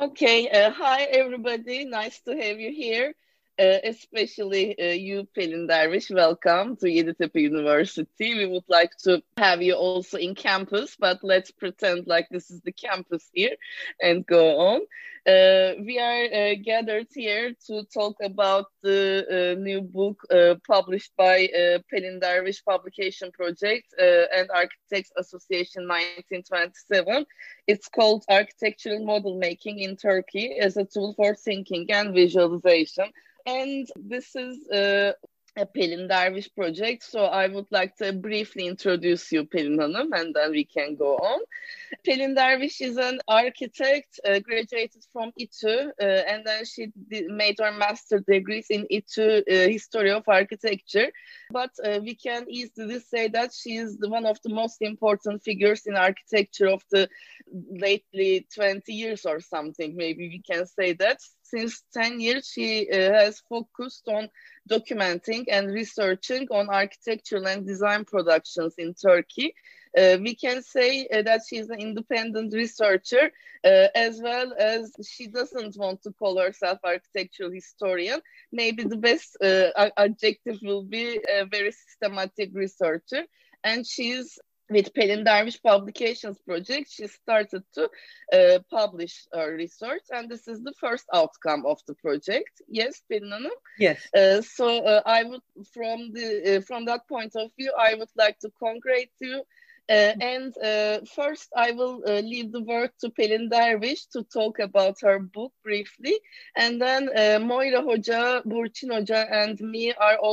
Okay, hi everybody. Nice to have you here. Especially you, Pelin Derviş. Welcome to Yeditepe University. We would like to have you also in campus, but let's pretend like this is the campus here and go on. We are gathered here to talk about the new book published by Pelin Derviş Publication Project and Architects Association 1927. It's called Architectural Model Making in Turkey as a tool for thinking and visualization. And this is a Pelin Derviş project. So I would like to briefly introduce you, Pelin Hanım, and then we can go on. Pelin Derviş is an architect, graduated from İTÜ, and then she made her master degrees in İTÜ History of Architecture. But we can easily say that she is one of the most important figures in architecture of the lately 20 years or something. Maybe we can say that. Since 10 years, she has focused on documenting and researching on architectural and design productions in Turkey. We can say that she's an independent researcher, as well as she doesn't want to call herself architectural historian. Maybe the best adjective will be a very systematic researcher. And she's with Pelin Derviş Publications Project, she started to publish her research, and this is the first outcome of the project. Yes, Pelin Hanım? Yes. I would, from that point of view, I would like to congratulate you. First, I will leave the word to Pelin Derviş to talk about her book briefly, and then Moira Hoca, Burçin Hoca, and me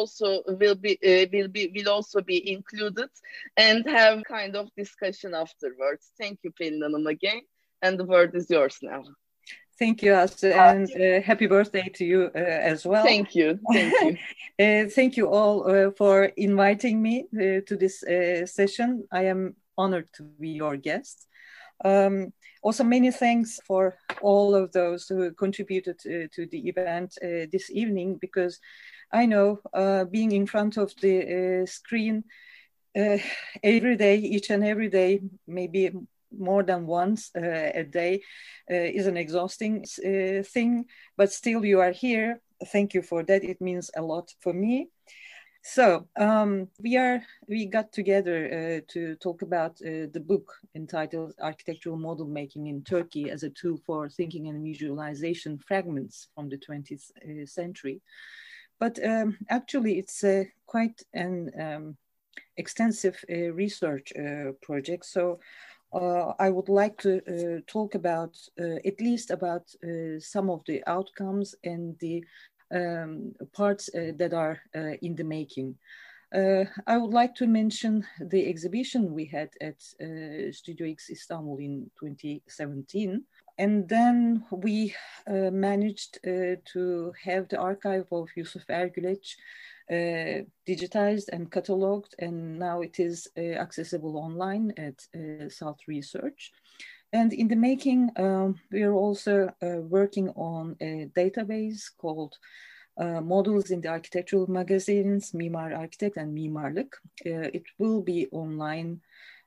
will also be included and have kind of discussion afterwards. Thank you, Pelin Hanım, again, and the word is yours now. Thank you, Aslı, and happy birthday to you as well. Thank you. Thank you. Thank you all for inviting me to this session. I am honored to be your guest. Also, many thanks for all of those who contributed to the event this evening, because I know being in front of the screen every day, each and every day, maybe more than once a day is an exhausting thing, but still you are here. Thank you for that. It means a lot for me. So we got together to talk about the book entitled Architectural Model Making in Turkey as a Tool for Thinking and Visualization, Fragments from the 20th Century. But actually it's quite an extensive research project. So I would like to talk about at least about some of the outcomes and the parts that are in the making. I would like to mention the exhibition we had at Studio X Istanbul in 2017. And then we managed to have the archive of Yusuf Ergüleç digitized and cataloged, and now it is accessible online at South Research. And in the making, we are also working on a database called Models in the Architectural Magazines, Mimar Architect and Mimarlık. It will be online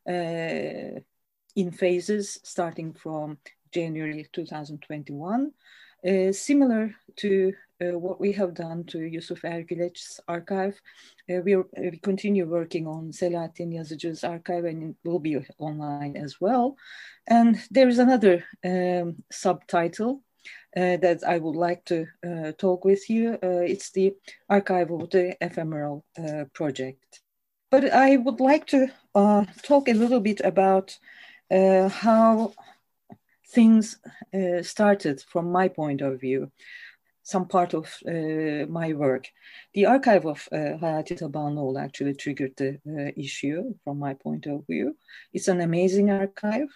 in phases starting from January 2021. Similar to what we have done to Yusuf Ergüleç's archive, we continue working on Selahattin Yazıcı's archive, and it will be online as well. And there is another subtitle that I would like to talk with you. It's the archive of the ephemeral project. But I would like to talk a little bit about how things started from my point of view, some part of my work. The archive of Hayati Tabanlıoğlu actually triggered the issue from my point of view. It's an amazing archive.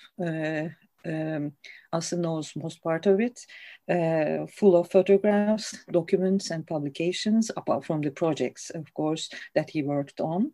Aslı knows most part of it, full of photographs, documents, and publications, apart from the projects, of course, that he worked on.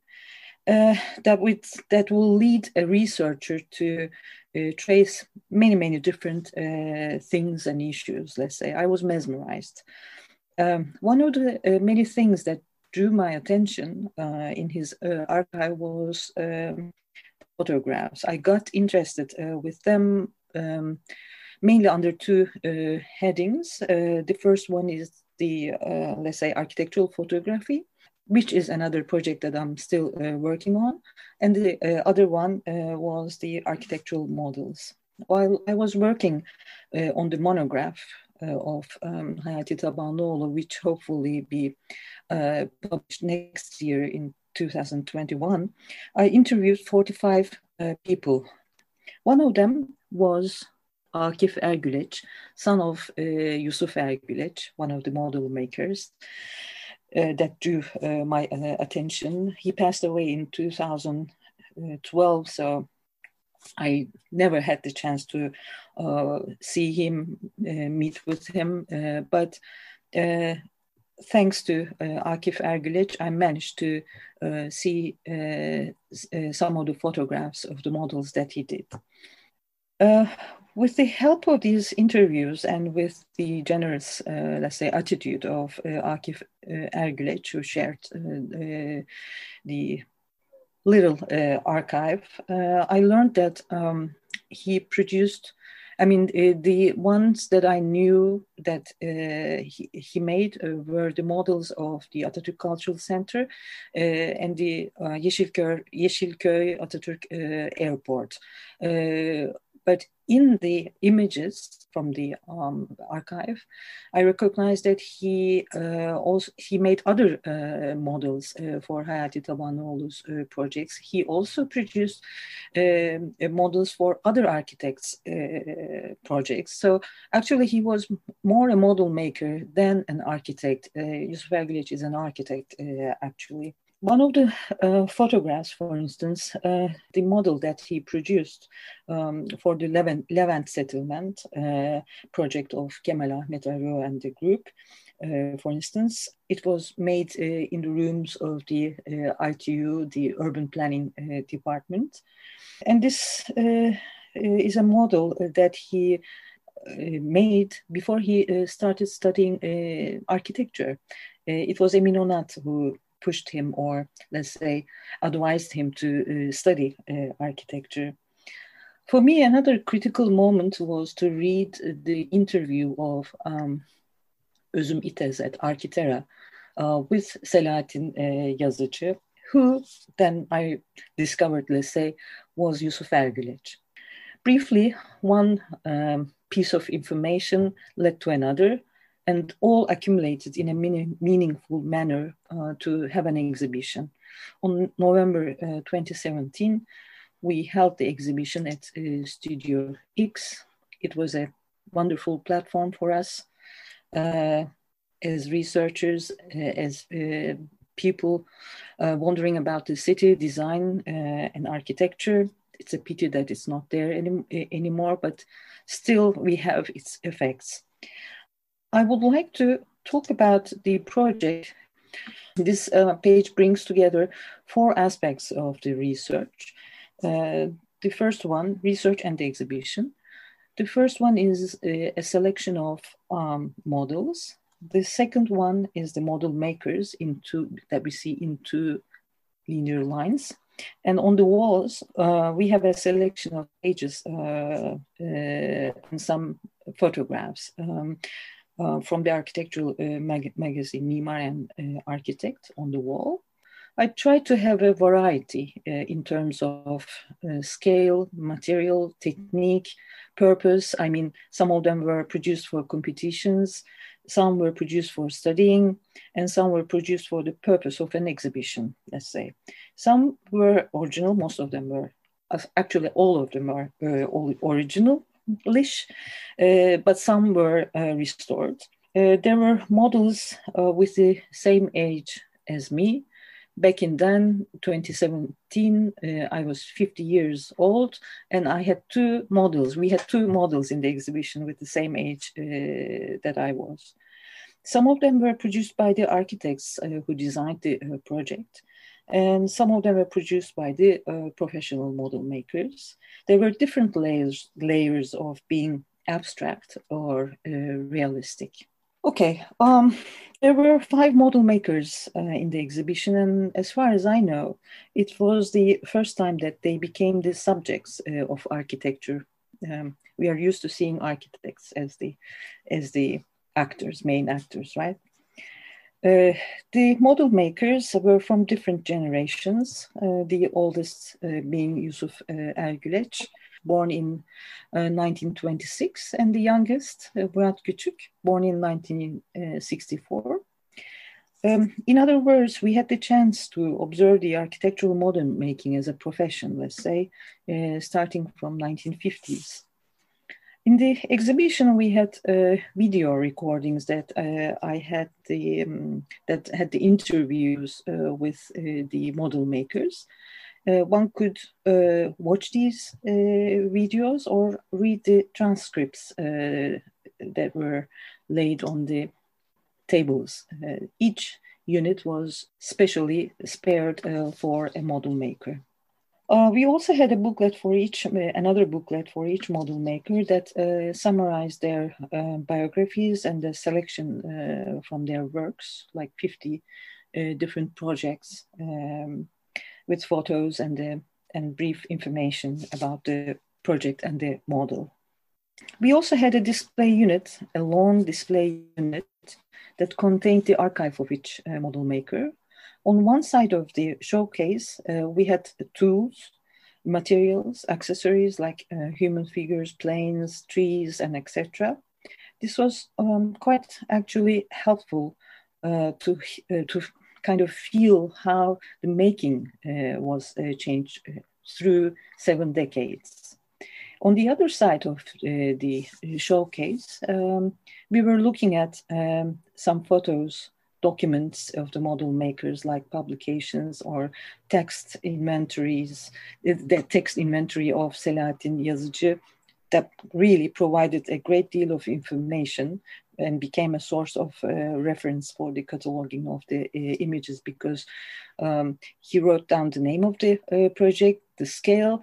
That will lead a researcher to trace many different things and issues, let's say. I was mesmerized. One of the many things that drew my attention in his archive was photographs. I got interested with them mainly under two headings. The first one is the, let's say, architectural photography, which is another project that I'm still working on. And the other one was the architectural models. While I was working on the monograph of Hayati Tabanlıoğlu, which hopefully be published next year in 2021, I interviewed 45 people. One of them was Akif Ergüleç, son of Yusuf Ergüleç, one of the model makers that drew my attention. He passed away in 2012, so I never had the chance to see him, meet with him, but thanks to Akif Ergüleç, I managed to see some of the photographs of the models that he did. With the help of these interviews and with the generous, let's say, attitude of Akif Ergüleç, who shared the little archive, I learned that he produced, the ones that I knew that he made were the models of the Atatürk Cultural Center and the Yeşilköy Atatürk Airport. But in the images from the archive, I recognized that he made other models for Hayati Tabanlıoğlu's projects. He also produced models for other architects' projects. So actually, he was more a model maker than an architect. Yusuf Ergüleç is an architect, actually. One of the photographs, for instance, the model that he produced for the Levent settlement project of Kemal Ahmet Arı and the group, for instance, it was made in the rooms of the ITU, the Urban Planning Department. And this is a model that he made before he started studying architecture. It was Emin Onat who pushed him, or let's say advised him to study architecture. For me, another critical moment was to read the interview of Özüm İtez at Architera with Selahattin Yazıcı, who then I discovered, let's say, was Yusuf Ergüleç. Briefly, one piece of information led to another, and all accumulated in a meaningful manner to have an exhibition. On November 2017, we held the exhibition at Studio X. It was a wonderful platform for us as researchers, as people wondering about the city, design and architecture. It's a pity that it's not there anymore, but still we have its effects. I would like to talk about the project. This page brings together four aspects of the research. The first one, research and the exhibition. The first one is a selection of models. The second one is the model makers that we see in two linear lines. And on the walls, we have a selection of pages and some photographs from the architectural magazine Mimar and Architect on the wall. I tried to have a variety in terms of scale, material, technique, purpose. I mean, some of them were produced for competitions, some were produced for studying, and some were produced for the purpose of an exhibition, let's say. Some were original, most of them were, actually all of them are original-ish, but some were restored. There were models with the same age as me. Back in then, 2017, I was 50 years old, and I had two models. We had two models in the exhibition with the same age that I was. Some of them were produced by the architects who designed the project, and some of them were produced by the professional model makers. There were different layers of being abstract or realistic. Okay, there were 5 model makers in the exhibition, and as far as I know, it was the first time that they became the subjects of architecture. we are used to seeing architects as the actors, main actors, right? The model makers were from different generations, the oldest being Yusuf Ergüleç, born in 1926, and the youngest, Murat Küçük, born in 1964. In other words, we had the chance to observe the architectural modern making as a profession, let's say, starting from 1950s. In the exhibition, we had video recordings that I had that had the interviews with the model makers. One could watch these videos or read the transcripts that were laid on the tables. Each unit was specially spared for a model maker. We also had a booklet for each, another booklet for each model maker that summarized their biographies and the selection from their works, like 50 different projects with photos and brief information about the project and the model. We also had a display unit, a long display unit that contained the archive of each model maker. On one side of the showcase, we had tools, materials, accessories like human figures, planes, trees, and etc. This was quite actually helpful to kind of feel how the making was changed through 7 decades. On the other side of the showcase, we were looking at some photos, documents of the model makers, like publications or text inventories, the text inventory of Selahattin Yazıcı that really provided a great deal of information and became a source of reference for the cataloging of the images, because he wrote down the name of the project, the scale,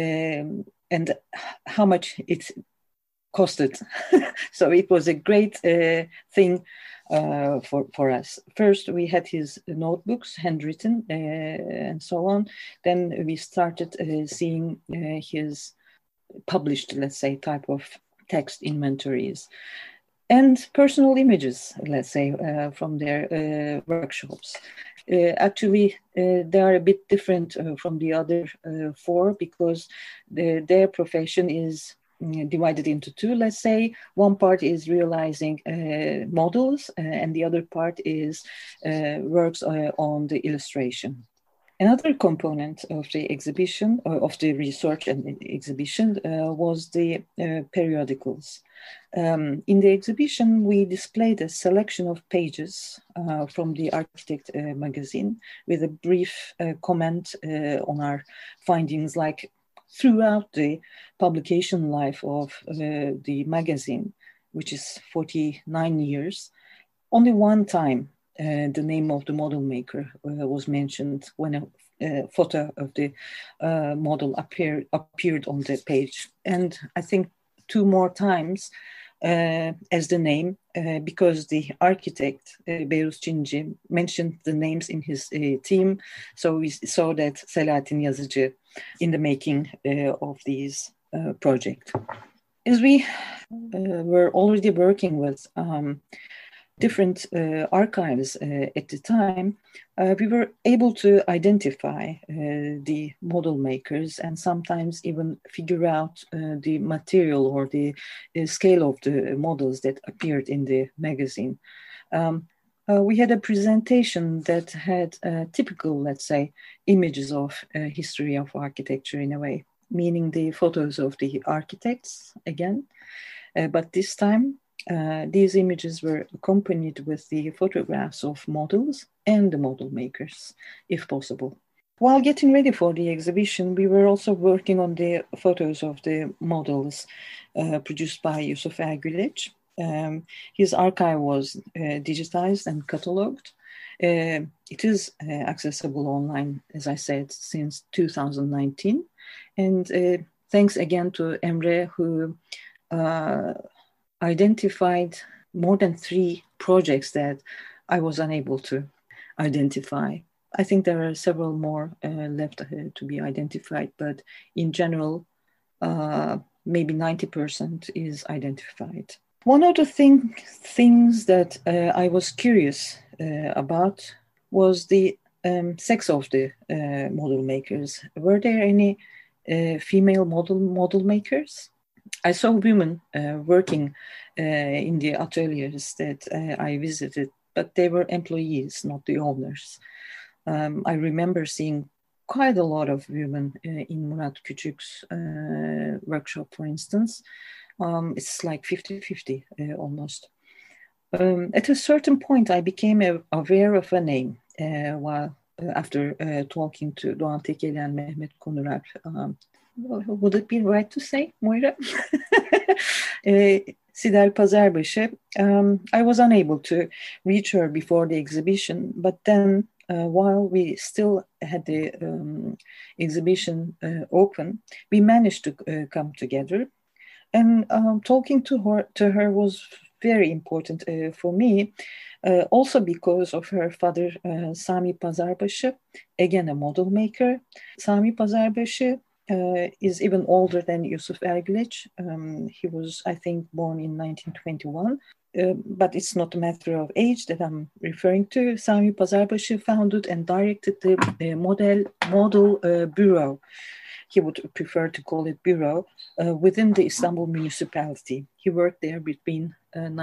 and how much it costed. So it was a great thing for us. First, we had his notebooks, handwritten, and so on. Then we started seeing his published, let's say, type of text inventories and personal images, let's say, from their workshops. Actually, they are a bit different from the other 4 because their profession is divided into 2, let's say. One part is realizing models and the other part is works on the illustration. Another component of the exhibition, of the research and the exhibition, was the periodicals. In the exhibition, we displayed a selection of pages from the Architect magazine with a brief comment on our findings, like throughout the publication life of the magazine, which is 49 years, only one time the name of the model maker was mentioned when a photo of the model appeared on the page. And I think 2 more times as the name, because the architect, Beyrus Çinci, mentioned the names in his team. So we saw that Selahattin Yazıcı in the making of these projects. As we were already working with different archives at the time, we were able to identify the model makers and sometimes even figure out the material or the scale of the models that appeared in the magazine. We had a presentation that had typical, let's say, images of history of architecture in a way, meaning the photos of the architects again, but this time these images were accompanied with the photographs of models and the model makers, if possible. While getting ready for the exhibition, we were also working on the photos of the models produced by Yusuf Ergüleç. His archive was digitized and cataloged. It is accessible online, as I said, since 2019. And thanks again to Emre, who identified more than 3 projects that I was unable to identify. I think there are several more left to be identified, but in general, maybe 90% is identified. One of the things that I was curious about was the sex of the model makers. Were there any female model makers? I saw women working in the ateliers that I visited, but they were employees, not the owners. I remember seeing quite a lot of women in Murat Küçük's workshop, for instance. It's like 50-50 almost. At a certain point, I became aware of a name after talking to Doğan Tekeli and Mehmet Konurar. Would it be right to say, Moira? Sibel Pazarbaşı. I was unable to reach her before the exhibition, but then while we still had the exhibition open, we managed to come together. And talking to her was very important for me, also because of her father, Sami Pazarbaşı, again a model maker. Sami Pazarbaşı is even older than Yusuf Ergüleç. He was, I think, born in 1921. But it's not a matter of age that I'm referring to. Sami Pazarbaşı founded and directed the model bureau. He would prefer to call it bureau, within the Istanbul municipality. He worked there between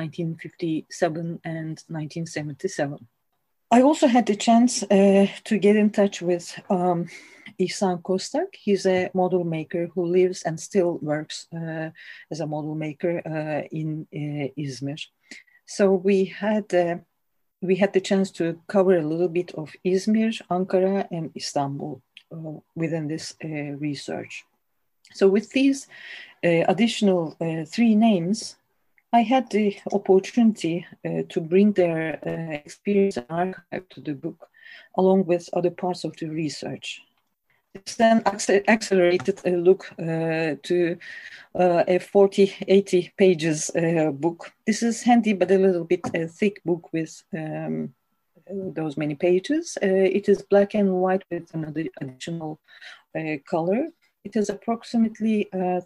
1957 and 1977. I also had the chance to get in touch with İhsan Kostak. He's a model maker who lives and still works as a model maker in Izmir. So we had the chance to cover a little bit of Izmir, Ankara, and Istanbul within this research. So with these additional 3 names, I had the opportunity to bring their experience and archive to the book, along with other parts of the research. It's then accelerated a look to a 40-80 pages book. This is handy, but a little bit thick book with those many pages. It is black and white with another additional color. It has approximately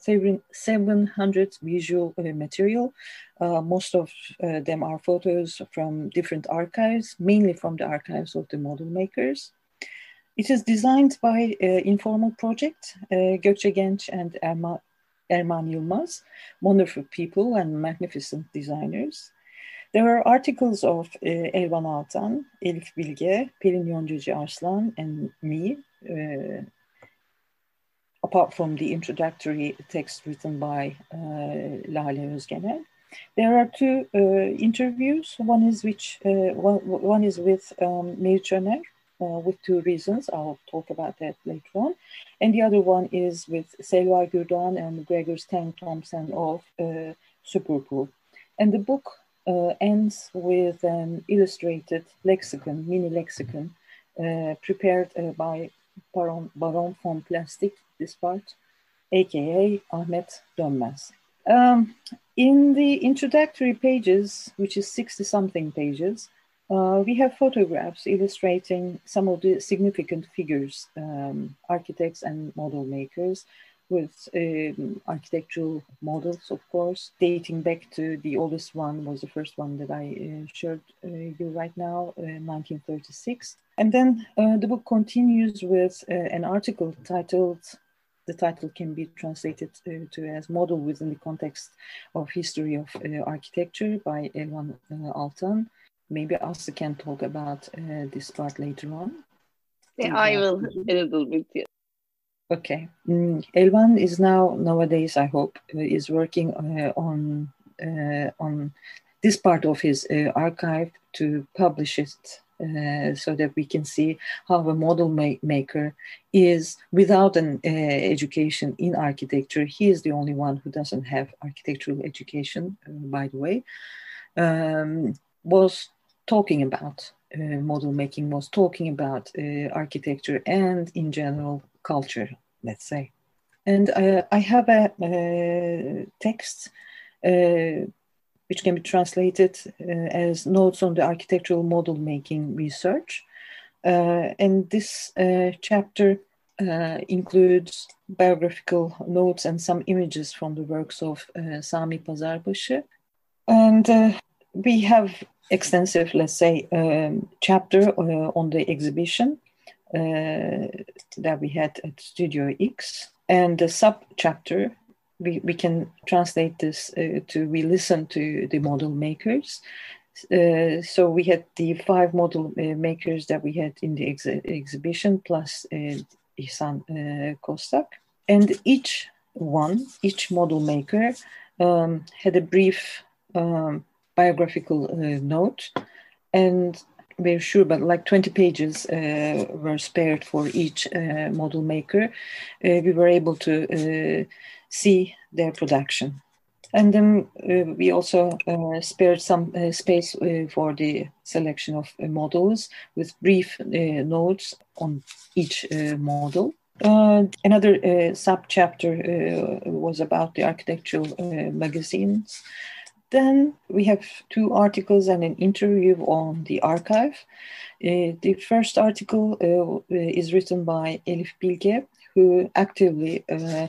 700 visual material. Most of them are photos from different archives, mainly from the archives of the model makers. It is designed by Informal Project, Gökçe Genç and Erman Yılmaz, wonderful people and magnificent designers. There are articles of Elvan Altan, Elif Bilge, Pelin Yoncacı Arslan, and me, apart from the introductory text written by Lale Özgenel. There are 2 interviews. One is with Meriç Öner, with 2 reasons. I'll talk about that later on. And the other one is with Selva Gürdoğan and Gregor Stang Thompson of Superpool. And the book ends with an illustrated lexicon, mini lexicon, prepared by Baron von Plastic, this part, aka Ahmet Dönmez. In the introductory pages, which is 60-something pages, we have photographs illustrating some of the significant figures, architects and model makers, with architectural models, of course, dating back to the oldest one was the first one that I showed you right now, 1936. And then the book continues with an article titled, the title can be translated to as Model Within the Context of History of Architecture by Elvan Altan. Maybe Aslı can talk about this part later on. Yeah, I will a little bit. Yeah. Okay. Elvan is nowadays, I hope, is working on this part of his archive to publish it so that we can see how a model maker is without an education in architecture. He is the only one who doesn't have architectural education, by the way, was talking about model making, was talking about architecture and in general culture, let's say. And I have a text which can be translated as Notes on the Architectural Model Making Research. And this chapter includes biographical notes and some images from the works of Sami Pazarbaşı. And we have extensive, let's say, chapter on the exhibition that we had at Studio X. And the sub-chapter, we can translate this to we listen to the model makers. So we had the 5 model makers that we had in the exhibition, plus İhsan Kostak. And each model maker had a brief biographical note, and we're sure, but like 20 pages were spared for each model maker. We were able to see their production. And then we also spared some space for the selection of models with brief notes on each model. Another sub-chapter was about the architectural magazines. Then we have 2 articles and an interview on the archive. The first article is written by Elif Bilge, who actively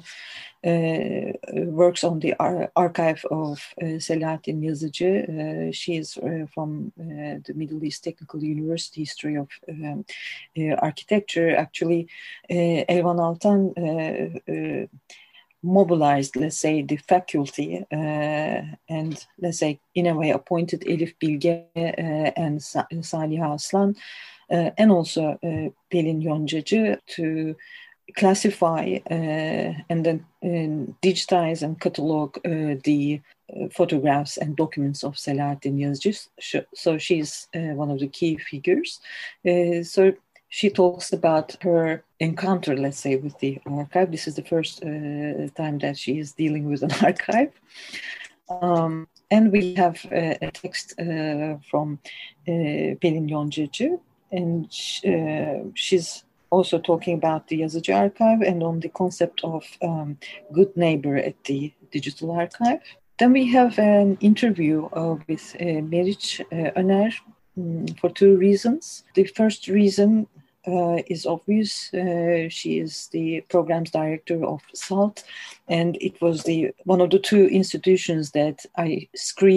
works on the archive of Selahattin Yazıcı. She is from the Middle East Technical University History of Architecture. Actually, Elvan Altan mobilized, let's say, the faculty and, let's say, in a way appointed Elif Bilge and Saliha Aslan and also Pelin Yoncacı to classify and then digitize and catalog the photographs and documents of Selahattin Yazıcı. So she's one of the key figures. So she talks about her encounter, let's say, with the archive. This is the first time that she is dealing with an archive. And we have a text from Pelin Yoncacı, and she's also talking about the Yazıcı archive and on the concept of good neighbor at the digital archive. Then we have an interview with Meriç Öner for 2 reasons. The first reason is obvious. She is the programs director of SALT, and it was one of the 2 institutions that I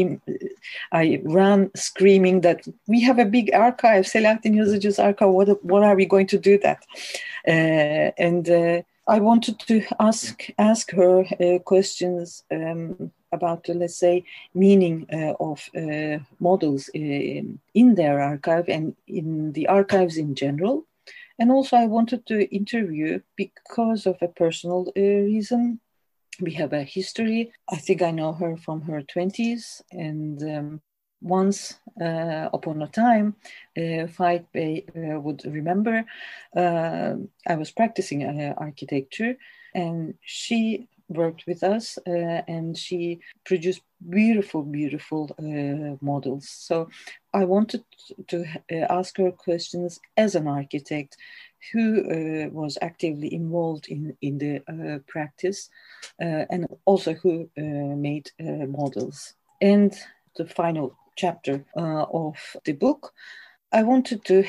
ran screaming that we have a big archive, Selahattin Yazıcı's archive. What are we going to do that? And I wanted to ask her questions about the, let's say, meaning of models in their archive and in the archives in general. And also I wanted to interview because of a personal reason. We have a history. I think I know her from her 20s. And once upon a time, Faik Bey would remember, I was practicing architecture, and she worked with us and she produced beautiful models. So I wanted to ask her questions as an architect who was actively involved in the practice and also who made models. And the final chapter of the book, I wanted to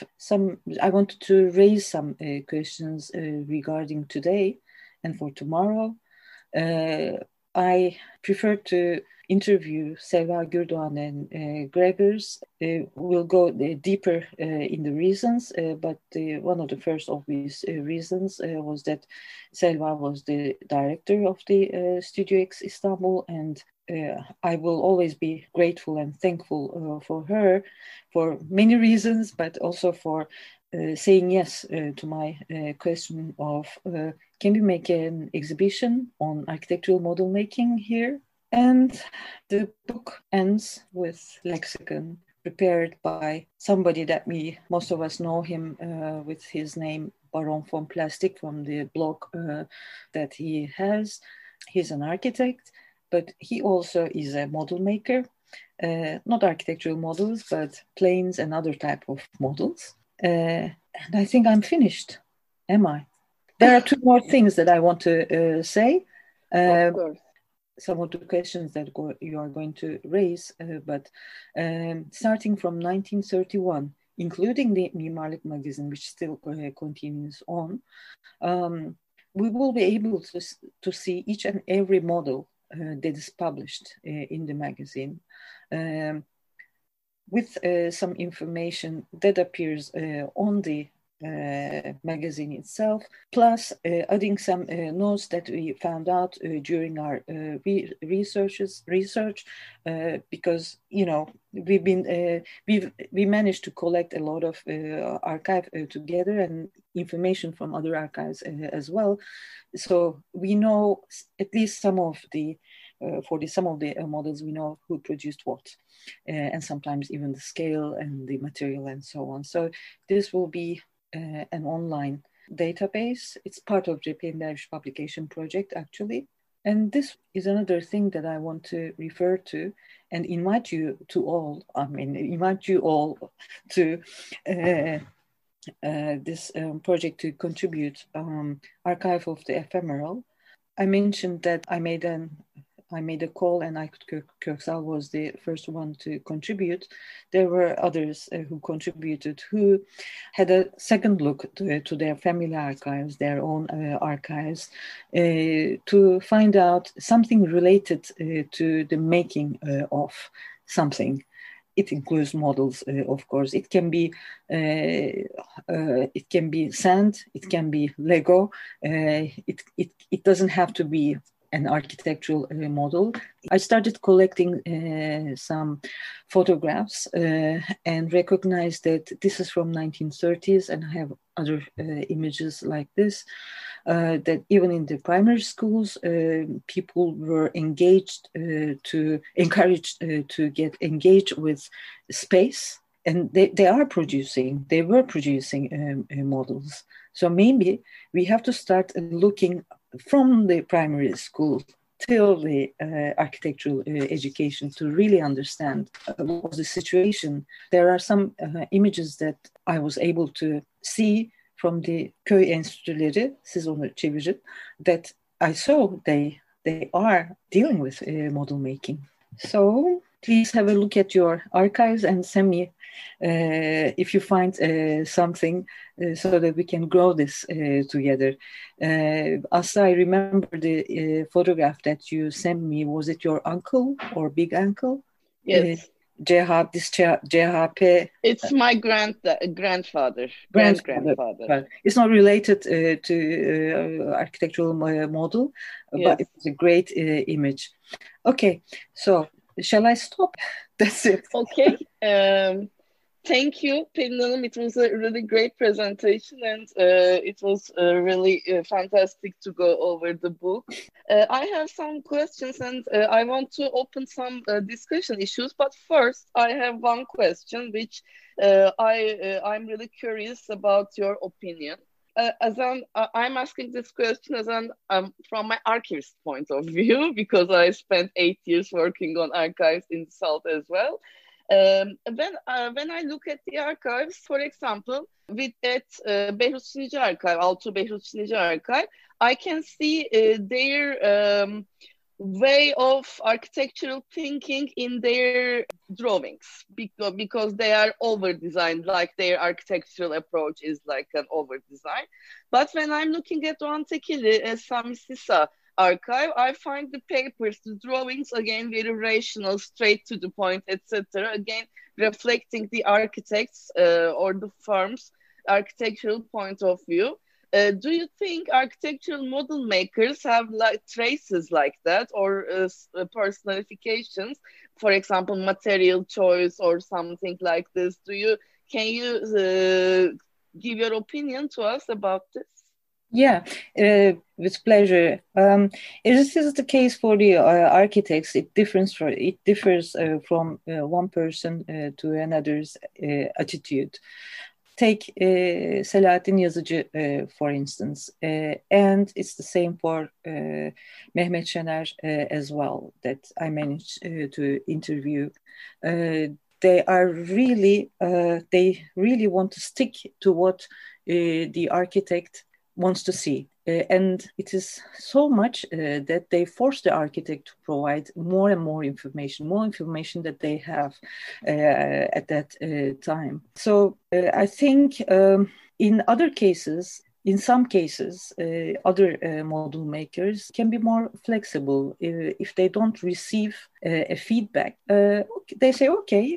raise some questions regarding today and for tomorrow. I prefer to interview Selva Gürdoğan and Gregors. We'll go deeper in the reasons, but one of the first obvious reasons was that Selva was the director of the Studio X Istanbul, and I will always be grateful and thankful for her for many reasons, but also for saying yes to my question of can we make an exhibition on architectural model making here? And the book ends with lexicon prepared by somebody that most of us know him with his name Baron von Plastic from the blog that he has. He's an architect, but he also is a model maker, not architectural models, but planes and other type of models. And I think I'm finished. Am I? There are 2 more things that I want to say. Of course. Some of the questions that you are going to raise, but starting from 1931, including the Mimarlık magazine, which still continues on, we will be able to see each and every model that is published in the magazine, with some information that appears on the magazine itself, plus adding some notes that we found out during our research, because we managed to collect a lot of archive together and information from other archives as well. So we know at least some of the models, we know who produced what, and sometimes even the scale and the material and so on. So this will be an online database. It's part of Cepheden Derviş publication project, actually. And this is another thing that I want to refer to and invite you all to this project to contribute Archive of the Ephemeral. I mentioned that I made a call, and Aykut Köksal was the first one to contribute. There were others who contributed, who had a second look to their family archives, their own archives, to find out something related to the making of something. It includes models, of course. It can be sand, it can be Lego. It doesn't have to be an architectural model. I started collecting some photographs and recognized that this is from 1930s, and I have other images like this, that even in the primary schools, people were encouraged to get engaged with space, and they were producing models. So maybe we have to start looking from the primary school till the architectural education to really understand what was the situation. There are some images that I was able to see from the köy enstitüleri, siz onu çevirin, that I saw they are dealing with model making. So please have a look at your archives and send me if you find something so that we can grow this together. Aslı, I remember the photograph that you sent me. Was it your uncle or big uncle? Yes. JHP. It's my grandfather. Grandfather. It's not related to architectural model, yes. But it's a great image. Okay, so shall I stop? That's it. Okay. Thank you, Pelin Hanım. It was a really great presentation, and it was really fantastic to go over the book. I have some questions, and I want to open some discussion issues. But first, I have one question, which I'm really curious about your opinion. I'm asking this question from my archivist point of view, because I spent 8 years working on archives in the South as well. When I look at the archives, for example, at Behruz Çinici Archive, Altuğ Behruz Çinici Archive, I can see their way of architectural thinking in their drawings, because they are over-designed, like their architectural approach is like an over-design. But when I'm looking at Doğan Tekili, Sami Sisa archive, I find the papers, the drawings, again, very rational, straight to the point, etc. Again, reflecting the architects or the firm's architectural point of view. Do you think architectural model makers have like traces like that, or personalifications, for example, material choice or something like this? Can you give your opinion to us about this? Yeah, with pleasure. This is the case for the architects. It differs from one person to another's attitude. Take Selahattin Yazıcı, for instance, and it's the same for Mehmet Şener as well, that I managed to interview. They really want to stick to what the architect wants to see. And it is so much that they force the architect to provide more and more information that they have at that time. So I think in other cases, in some cases, other model makers can be more flexible. If they don't receive a feedback, they say, "Okay,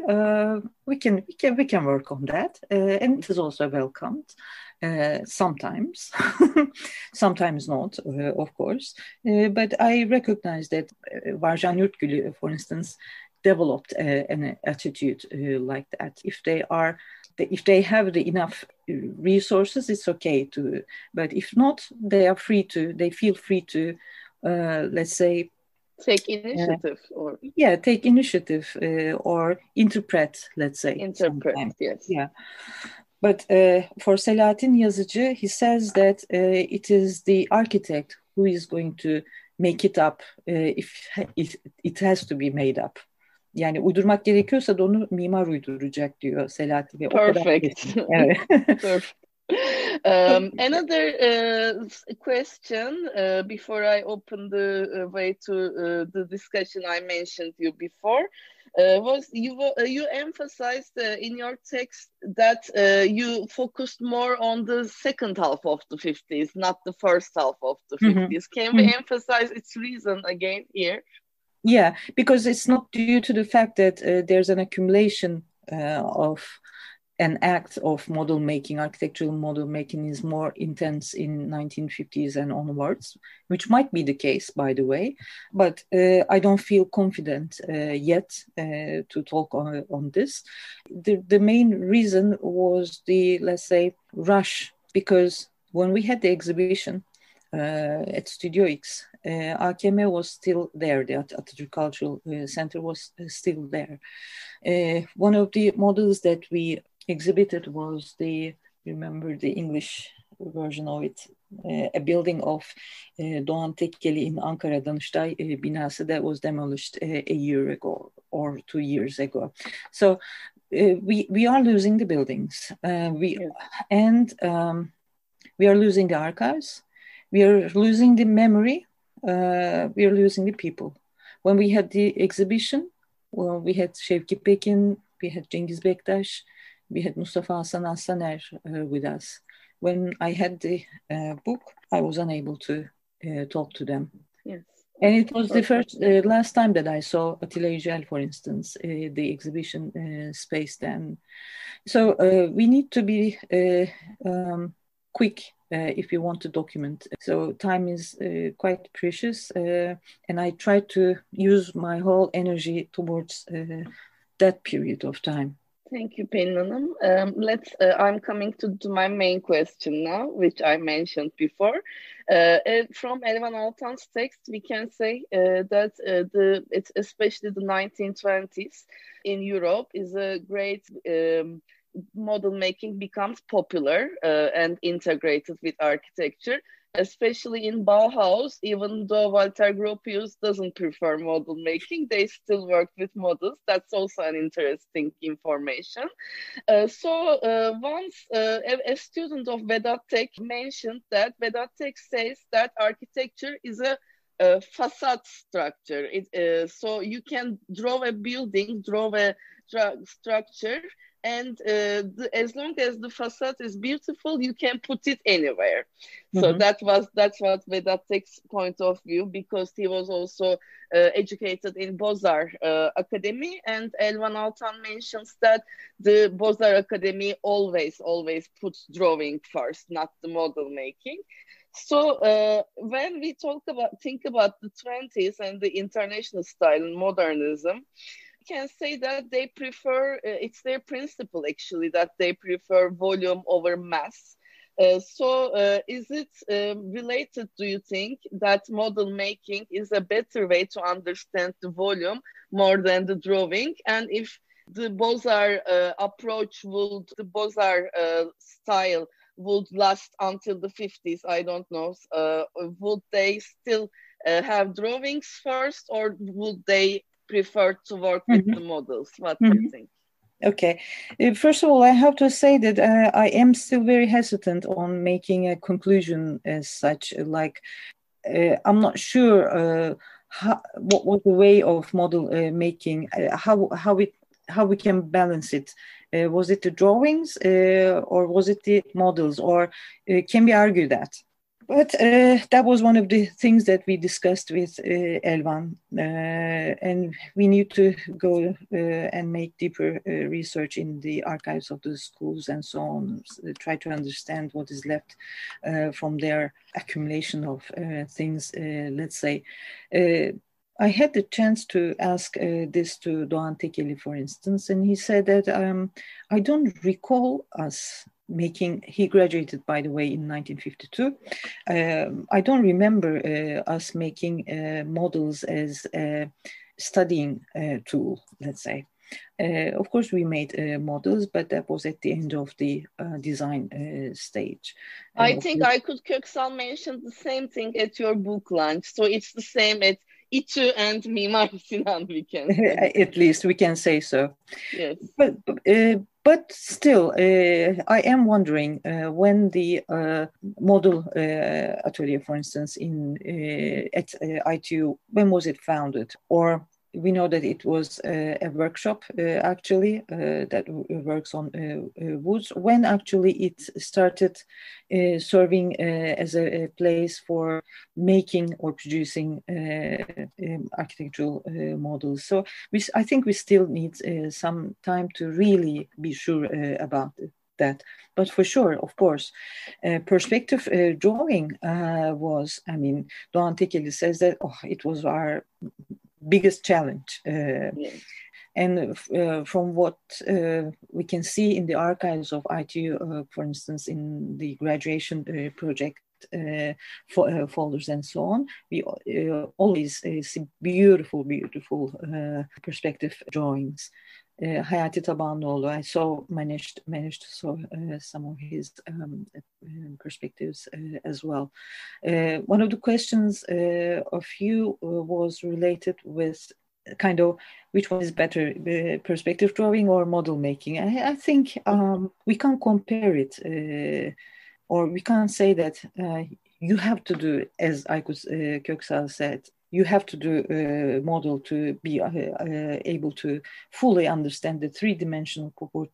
we can work on that," and it is also welcomed. Sometimes, sometimes not, of course. But I recognize that Varjan Yurtgülü, for instance, developed an attitude like that. If they have the enough resources, it's okay to. But if not, they feel free to, let's say, take initiative take initiative or interpret. Let's say sometimes. Yes. Yeah. But for Selahattin Yazıcı, he says that it is the architect who is going to make it up if it has to be made up. Yani uydurmak gerekiyorsa da onu mimar uyduracak diyor Selahattin Bey. Perfect. Evet. Perfect. Another question before I open the way to the discussion I mentioned you before was you emphasized in your text that you focused more on the second half of the 50s, not the first half of the 50s. Can we emphasize its reason again here? Yeah, because it's not due to the fact that there's an accumulation of an act of model making. Architectural model making is more intense in 1950s and onwards, which might be the case, by the way. But I don't feel confident yet to talk on this. The main reason was the, let's say, rush, because when we had the exhibition at Studio X, AKM was still there. The Atatürk Cultural Center was still there. One of the models that we exhibited was remember the English version of it, a building of Doğan Tekkeli in Ankara, Danıştay binası that was demolished a year ago or 2 years ago. So we are losing the buildings. We are losing the archives. We are losing the memory. We are losing the people. When we had the exhibition, we had Şevki Pekin, we had Cengiz Bektaş, we had Mustafa Hasan Aslaner with us. When I had the book, I was unable to talk to them. Yes. And it was the last time that I saw Atilla Yücel, for instance, the exhibition space then. So we need to be quick if you want to document. So time is quite precious, and I try to use my whole energy towards that period of time. Thank you, Pelin Hanım. I'm coming to my main question now, which I mentioned before. From Elvan Altan's text, we can say that it's especially the 1920s in Europe is a great model making becomes popular and integrated with architecture, especially in Bauhaus. Even though Walter Gropius doesn't prefer model making, they still work with models. That's also an interesting information. Once a student of Vedat Tek mentioned that Vedat Tek says that architecture is a facade structure. So you can draw a building, draw a structure, and as long as the facade is beautiful, you can put it anywhere. Mm-hmm. So that's what Vedat Tek's point of view, because he was also educated in Beaux-Arts Academy, and Elvan Altan mentions that the Beaux-Arts Academy always puts drawing first, not the model making. So when we think about the 20s and the international style and modernism, can say that they prefer, it's their principle actually, that they prefer volume over mass. Is it related, do you think, that model making is a better way to understand the volume more than the drawing? And if the Beaux-Arts approach the Beaux-Arts style would last until the 50s, I don't know, would they still have drawings first, or would they prefer to work with the models? What do you think? Okay. First of all, I have to say that I am still very hesitant on making a conclusion as such. Like, I'm not sure what was the way of model making, how we can balance it Was it the drawings or was it the models, or can we argue that? But that was one of the things that we discussed with Elvan, and we need to go and make deeper research in the archives of the schools and so on, try to understand what is left from their accumulation of things, let's say. I had the chance to ask this to Doğan Tekeli, for instance, and he said that I don't recall us making, he graduated, by the way, in 1952. I don't remember us making models as a studying tool, let's say. Of course, we made models, but that was at the end of the design stage. I think Aykut Köksal mentioned the same thing at your book launch. So it's the same at İTÜ and Mimar Sinan, we can say. At least we can say so. Yes. But still, I am wondering when the model atelier, for instance, at ITU, when was it founded? Or we know that it was a workshop actually that works on woods. When actually it started serving as a place for making or producing architectural models. So I think we still need some time to really be sure about that. But for sure, of course, perspective drawing was, I mean, Doğan Tekeli says that it was our biggest challenge. Yes. And from what we can see in the archives of ITU, for instance, in the graduation project folders and so on, we always see beautiful perspective drawings. Hayati Tabanoğlu, I managed to saw some of his perspectives as well. One of the questions of you was related with kind of which one is better, perspective drawing or model making. I think we can't compare it, or we can't say that you have to do, as Aykut Köksal said, you have to do a model to be able to fully understand the three-dimensional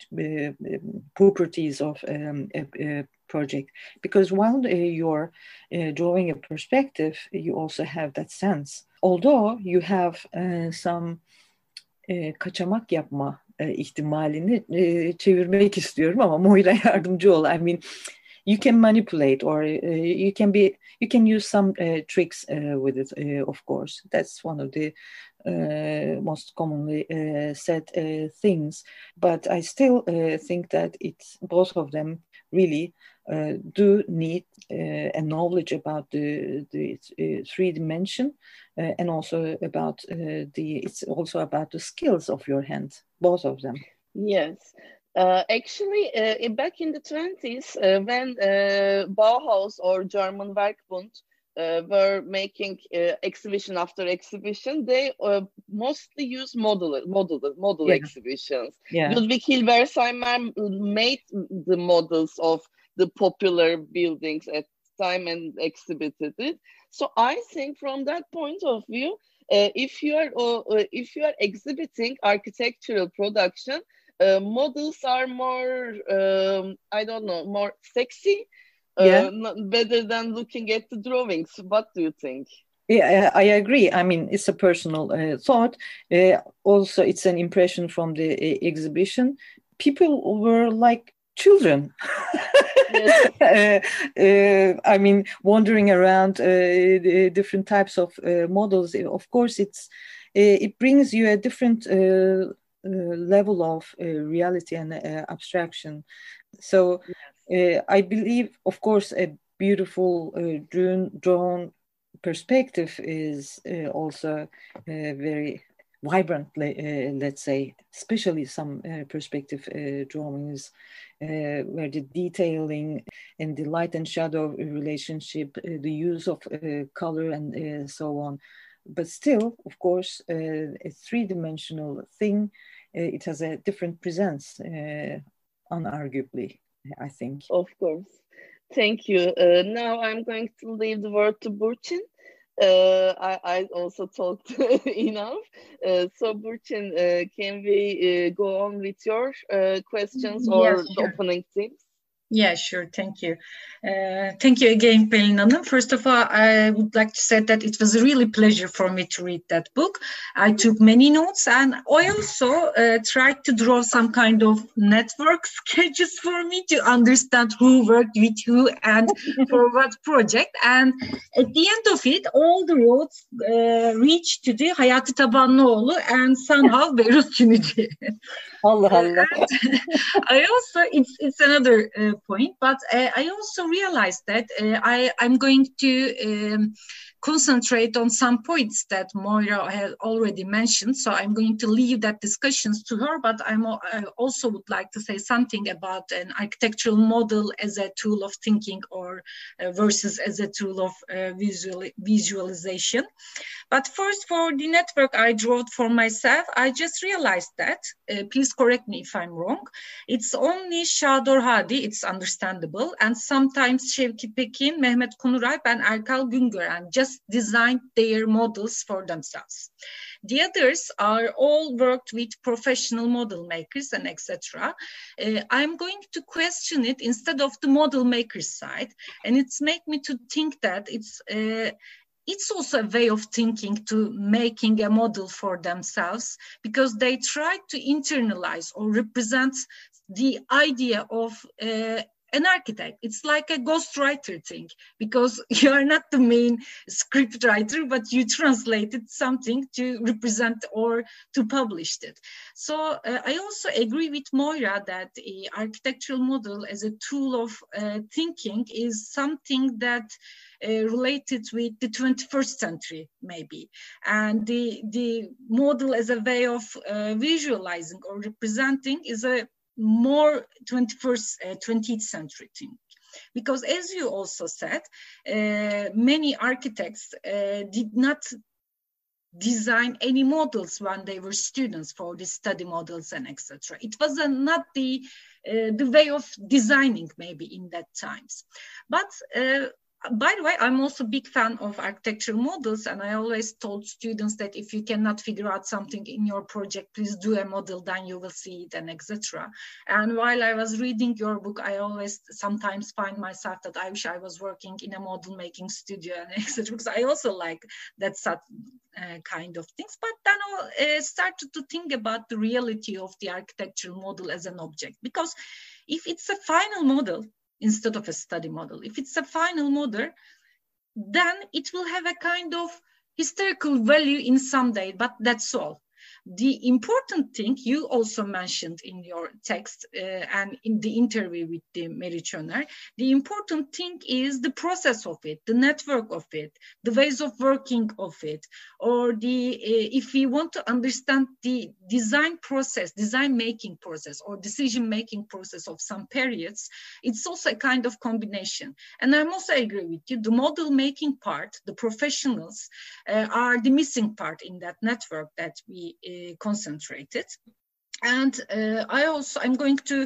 properties of a project. Because while you're drawing a perspective, you also have that sense. Although you have some kaçamak yapma ihtimalini çevirmek istiyorum ama Moira yardımcı ol. I mean, you can manipulate, or you can use some tricks with it, of course. That's one of the most commonly said things. But I still think that both of them really do need a knowledge about the three dimension, and also about it's also about the skills of your hand, both of them. Yes. Actually, back in the 20s, when Bauhaus or German Werkbund were making exhibition after exhibition, they mostly use model exhibitions. Yeah. Ludwig Hilberseimer made the models of the popular buildings at the time and exhibited it. So I think from that point of view, if you are exhibiting architectural production, models are more, I don't know, more sexy, better than looking at the drawings. What do you think? Yeah, I agree. I mean, it's a personal thought. Also, it's an impression from the exhibition. People were like children. I mean, wandering around different types of models. Of course, it brings you a different level of reality and abstraction. So I believe, of course, a beautiful drawn perspective is also very vibrant, let's say, especially some perspective drawings where the detailing and the light and shadow relationship, the use of color and so on. But still, of course, a three-dimensional thing, it has a different presence, unarguably, I think. Of course. Thank you. Now I'm going to leave the word to Burçin. I also talked enough. So, Burçin, can we go on with your questions Yes, or the sure. opening themes? Yeah, sure. Thank you. Thank you again, Pelin Hanım. First of all, I would like to say that it was a really pleasure for me to read that book. I took many notes, and I also tried to draw some kind of network sketches for me to understand who worked with who and for what project. And at the end of it, all the roads reached to the Hayati Tabanlıoğlu and somehow Beyrut Tünücü. Allah Allah. I also, it's another point, but I also realized that I'm going to concentrate on some points that Moira has already mentioned. So I'm going to leave that discussions to her, but I also would like to say something about an architectural model as a tool of thinking or versus as a tool of visualization. But first, for the network I drew for myself, I just realized that, please correct me if I'm wrong, it's only Şador Hadi, it's understandable, and sometimes Şevki Pekin, Mehmet Kunuralp, and Erkal Güngören just designed their models for themselves. The others are all worked with professional model makers and etc. I'm going to question it instead of the model maker side, and it's make me to think that it's also a way of thinking to making a model for themselves, because they try to internalize or represent the idea of an architect. It's like a ghostwriter thing, because you are not the main script writer, but you translated something to represent or to publish it. So I also agree with Moira that architectural model as a tool of thinking is something that related with the 21st century, maybe. And the model as a way of visualizing or representing is a more 20th century thing. Because as you also said, many architects did not design any models when they were students for the study models and etc. It was not the way of designing maybe in that times. But by the way, I'm also a big fan of architectural models, and I always told students that if you cannot figure out something in your project, please do a model, then you will see it and etc. And while I was reading your book, I always sometimes find myself that I wish I was working in a model making studio and etc. Because I also like that kind of things. But then I started to think about the reality of the architectural model as an object, because if it's a final model instead of a study model, if it's a final model, then it will have a kind of historical value in some day, but that's all. The important thing you also mentioned in your text and in the interview with the Meriç Öner, the important thing is the process of it, the network of it, the ways of working of it, or if we want to understand the design process, design making process, or decision making process of some periods, it's also a kind of combination. And I'm also agree with you, the model making part, the professionals are the missing part in that network that we concentrated. And I'm going to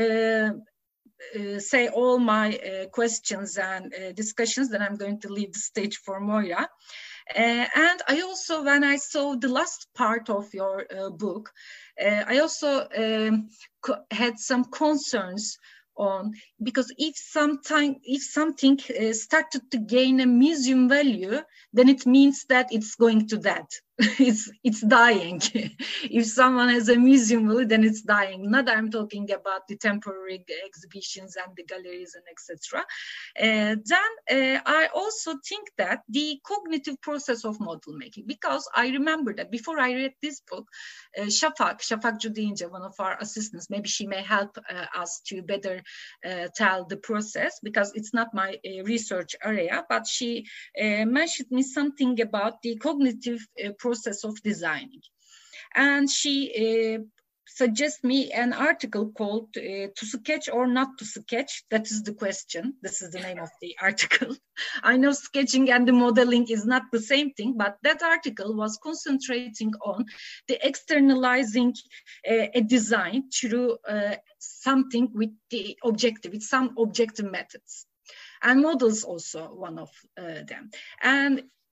say all my questions and discussions, then I'm going to leave the stage for Moira. And I also, when I saw the last part of your book, I also had some concerns on, because if something started to gain a museum value, then it means that it's going to that. It's dying. If someone has a museum value, then it's dying. Not I'm talking about the temporary exhibitions and the galleries and etc. Then I also think that the cognitive process of model making, because I remember that before I read this book, Şafak Cudince, one of our assistants, maybe she may help us to better tell the process, because it's not my research area, but she mentioned me something about the cognitive process of designing. And she suggests me an article called To Sketch or Not to Sketch. That is the question. This is the name of the article. I know sketching and the modeling is not the same thing, but that article was concentrating on the externalizing a design through something with the objective, with some objective methods. And models also one of them. And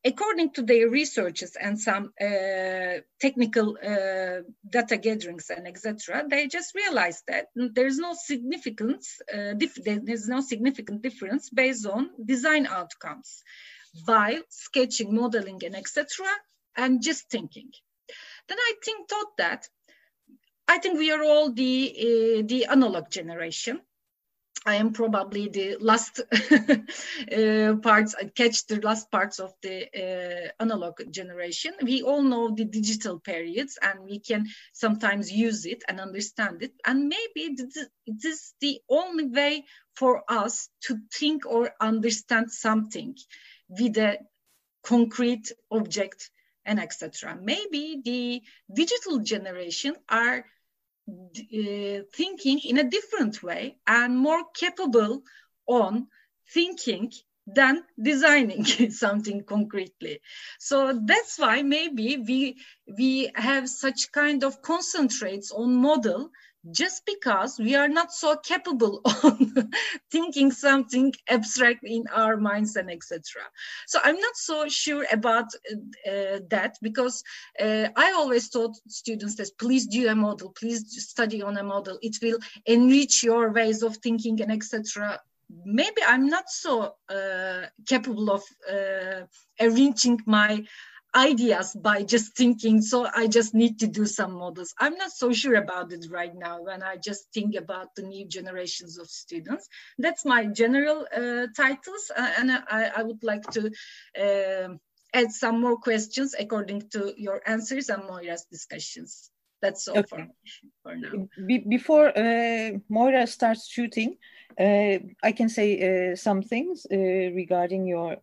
according to their researches and some technical data gatherings and etc., they just realized that there's no significant difference based on design outcomes by sketching, modeling, and etc., and just thinking. Then I think we are all the analog generation. I am probably the last parts, I catch the last parts of the analog generation. We all know the digital periods and we can sometimes use it and understand it. And maybe it is the only way for us to think or understand something with a concrete object and etc. Maybe the digital generation are thinking in a different way and more capable on thinking than designing something concretely. So that's why maybe we have such kind of concentrates on model, just because we are not so capable on thinking something abstract in our minds and etc. So I'm not so sure about that, because I always told students that please do a model, please study on a model. It will enrich your ways of thinking and etc. Maybe I'm not so capable of arranging my ideas by just thinking, so I just need to do some models. I'm not so sure about it right now when I just think about the new generations of students. That's my general titles, and I would like to add some more questions according to your answers and Moira's discussions. That's all for now. Before Moira starts shooting, I can say some things regarding your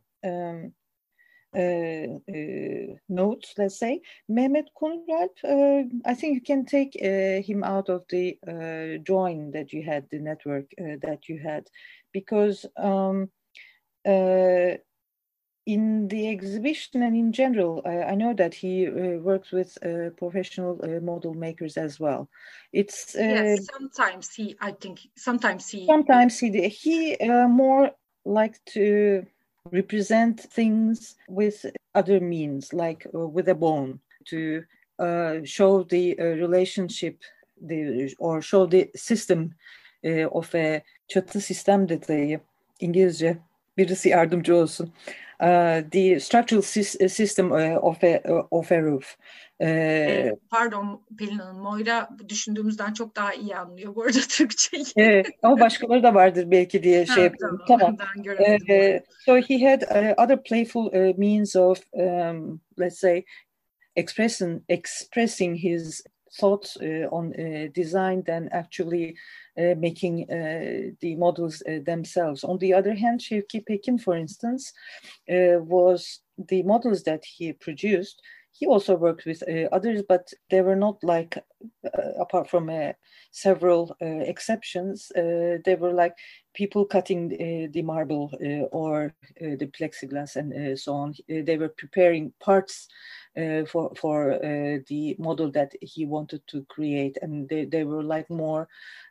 notes, let's say. Mehmet Konralp, I think you can take him out of the drawing that you had, the network that you had, because in the exhibition and in general, I know that he works with professional model makers as well. It's yes, sometimes he more like to represent things with other means, like with a bone, to show the relationship, or show the system of a çatı sistem detayı. İngilizce birisi yardımcı olsun. The structural system of a roof. Pardon Pelin Hanım, Moira düşündüğümüzden çok daha iyi anlıyor bu arada Türkçeyi. Ama başkaları da vardır belki diye şey yapıyorum. Tamam. So he had other playful means of, let's say, expressing his thoughts on design than actually making the models themselves. On the other hand, Şevki Pekin, for instance, was the models that he produced. He also worked with others, but they were not like, apart from several exceptions, they were like people cutting the marble or the plexiglass and so on. They were preparing parts for the model that he wanted to create, and they were like more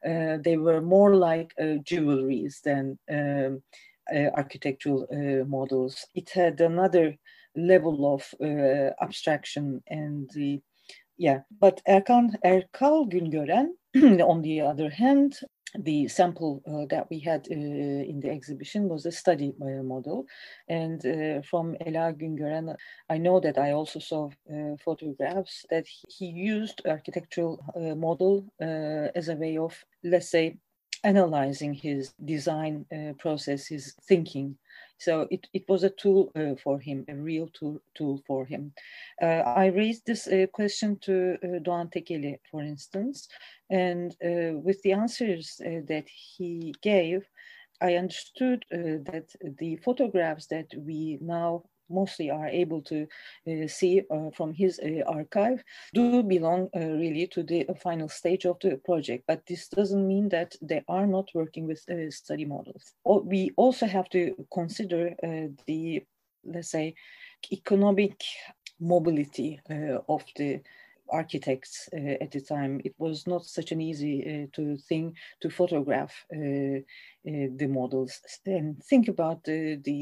like jewelries than architectural models. It had another level of abstraction and but Erkal Güngören, on the other hand, the sample that we had in the exhibition was a study model, and from Ela Güngören, I know that I also saw photographs that he used architectural model as a way of, let's say, analyzing his design process, his thinking. So it was a tool for him, a real tool for him. I raised this question to Doğan Tekeli, for instance, and with the answers that he gave, I understood that the photographs that we now mostly are able to see from his archive do belong really to the final stage of the project. But this doesn't mean that they are not working with study models. We also have to consider the, let's say, economic mobility of the architects at the time. It was not such an easy thing to photograph the models. And think about the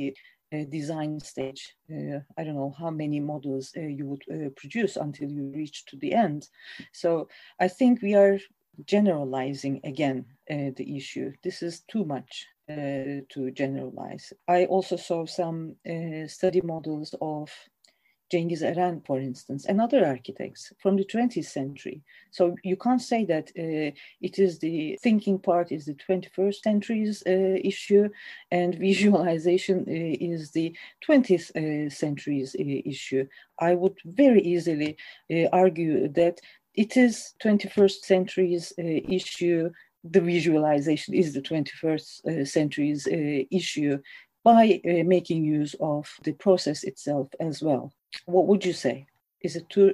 design stage. I don't know how many models you would produce until you reach to the end. So I think we are generalizing again the issue. This is too much to generalize. I also saw some study models of Cengiz Eren, for instance, and other architects from the 20th century. So you can't say that it is the thinking part is the 21st century's issue and visualization is the 20th century's issue. I would very easily argue that it is 21st century's issue. The visualization is the 21st century's issue by making use of the process itself as well. What would you say? Is it too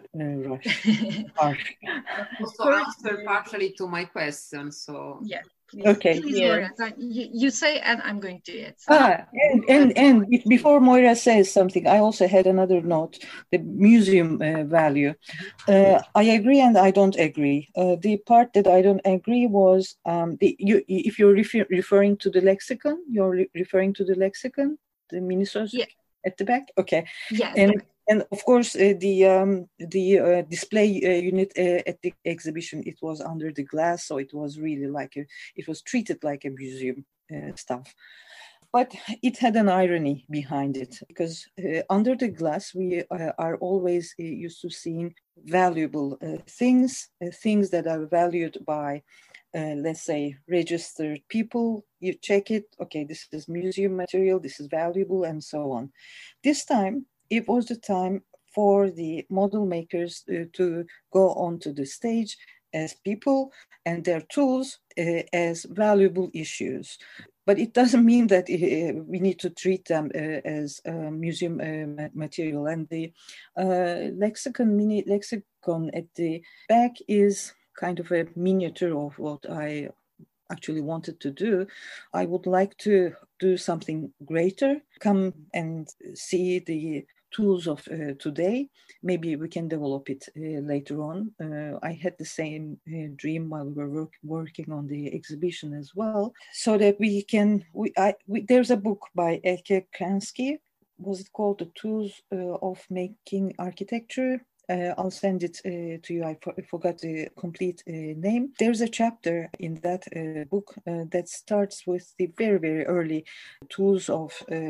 harsh? Also answer partially to my question. So yeah. Please, okay. Please, yes. Moira, you say, and I'm going to add. And before Moira says something, I also had another note: the museum value. I agree and I don't agree. The part that I don't agree was if you're referring to the lexicon, you're referring to the lexicon, the Minnesota at the back. Okay. Yeah. And of course, the display unit at the exhibition, it was under the glass, so it was really like it was treated like a museum stuff. But it had an irony behind it because under the glass, we are always used to seeing valuable things that are valued by, let's say, registered people. You check it, okay, this is museum material, this is valuable, and so on. This time, it was the time for the model makers to go onto the stage as people and their tools as valuable issues. But it doesn't mean that we need to treat them as museum material. And the mini lexicon at the back is kind of a miniature of what I actually wanted to do. I would like to do something greater, come and see the tools of today. Maybe we can develop it later on. I had the same dream while we were working on the exhibition as well, so that we can, there's a book by Elke Kransky. Was it called The Tools of Making Architecture? I'll send it to you. I forgot the complete name. There's a chapter in that book that starts with the very, very early tools of,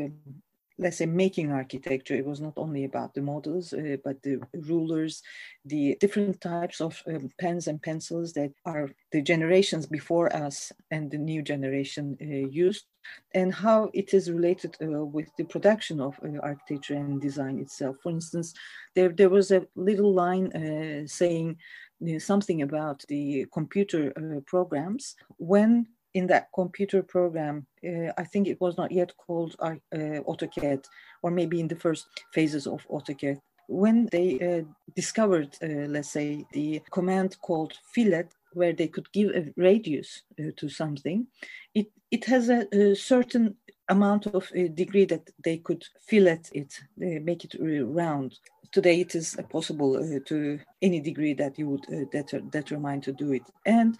let's say, making architecture. It was not only about the models, but the rulers, the different types of pens and pencils that are the generations before us and the new generation used, and how it is related with the production of architecture and design itself. For instance, there was a little line saying something about the computer programs. When in that computer program, I think it was not yet called AutoCAD, or maybe in the first phases of AutoCAD, when they discovered, let's say, the command called fillet, where they could give a radius to something, it has a certain amount of degree that they could fillet it, make it round. Today it is possible to any degree that you would determine to do it. And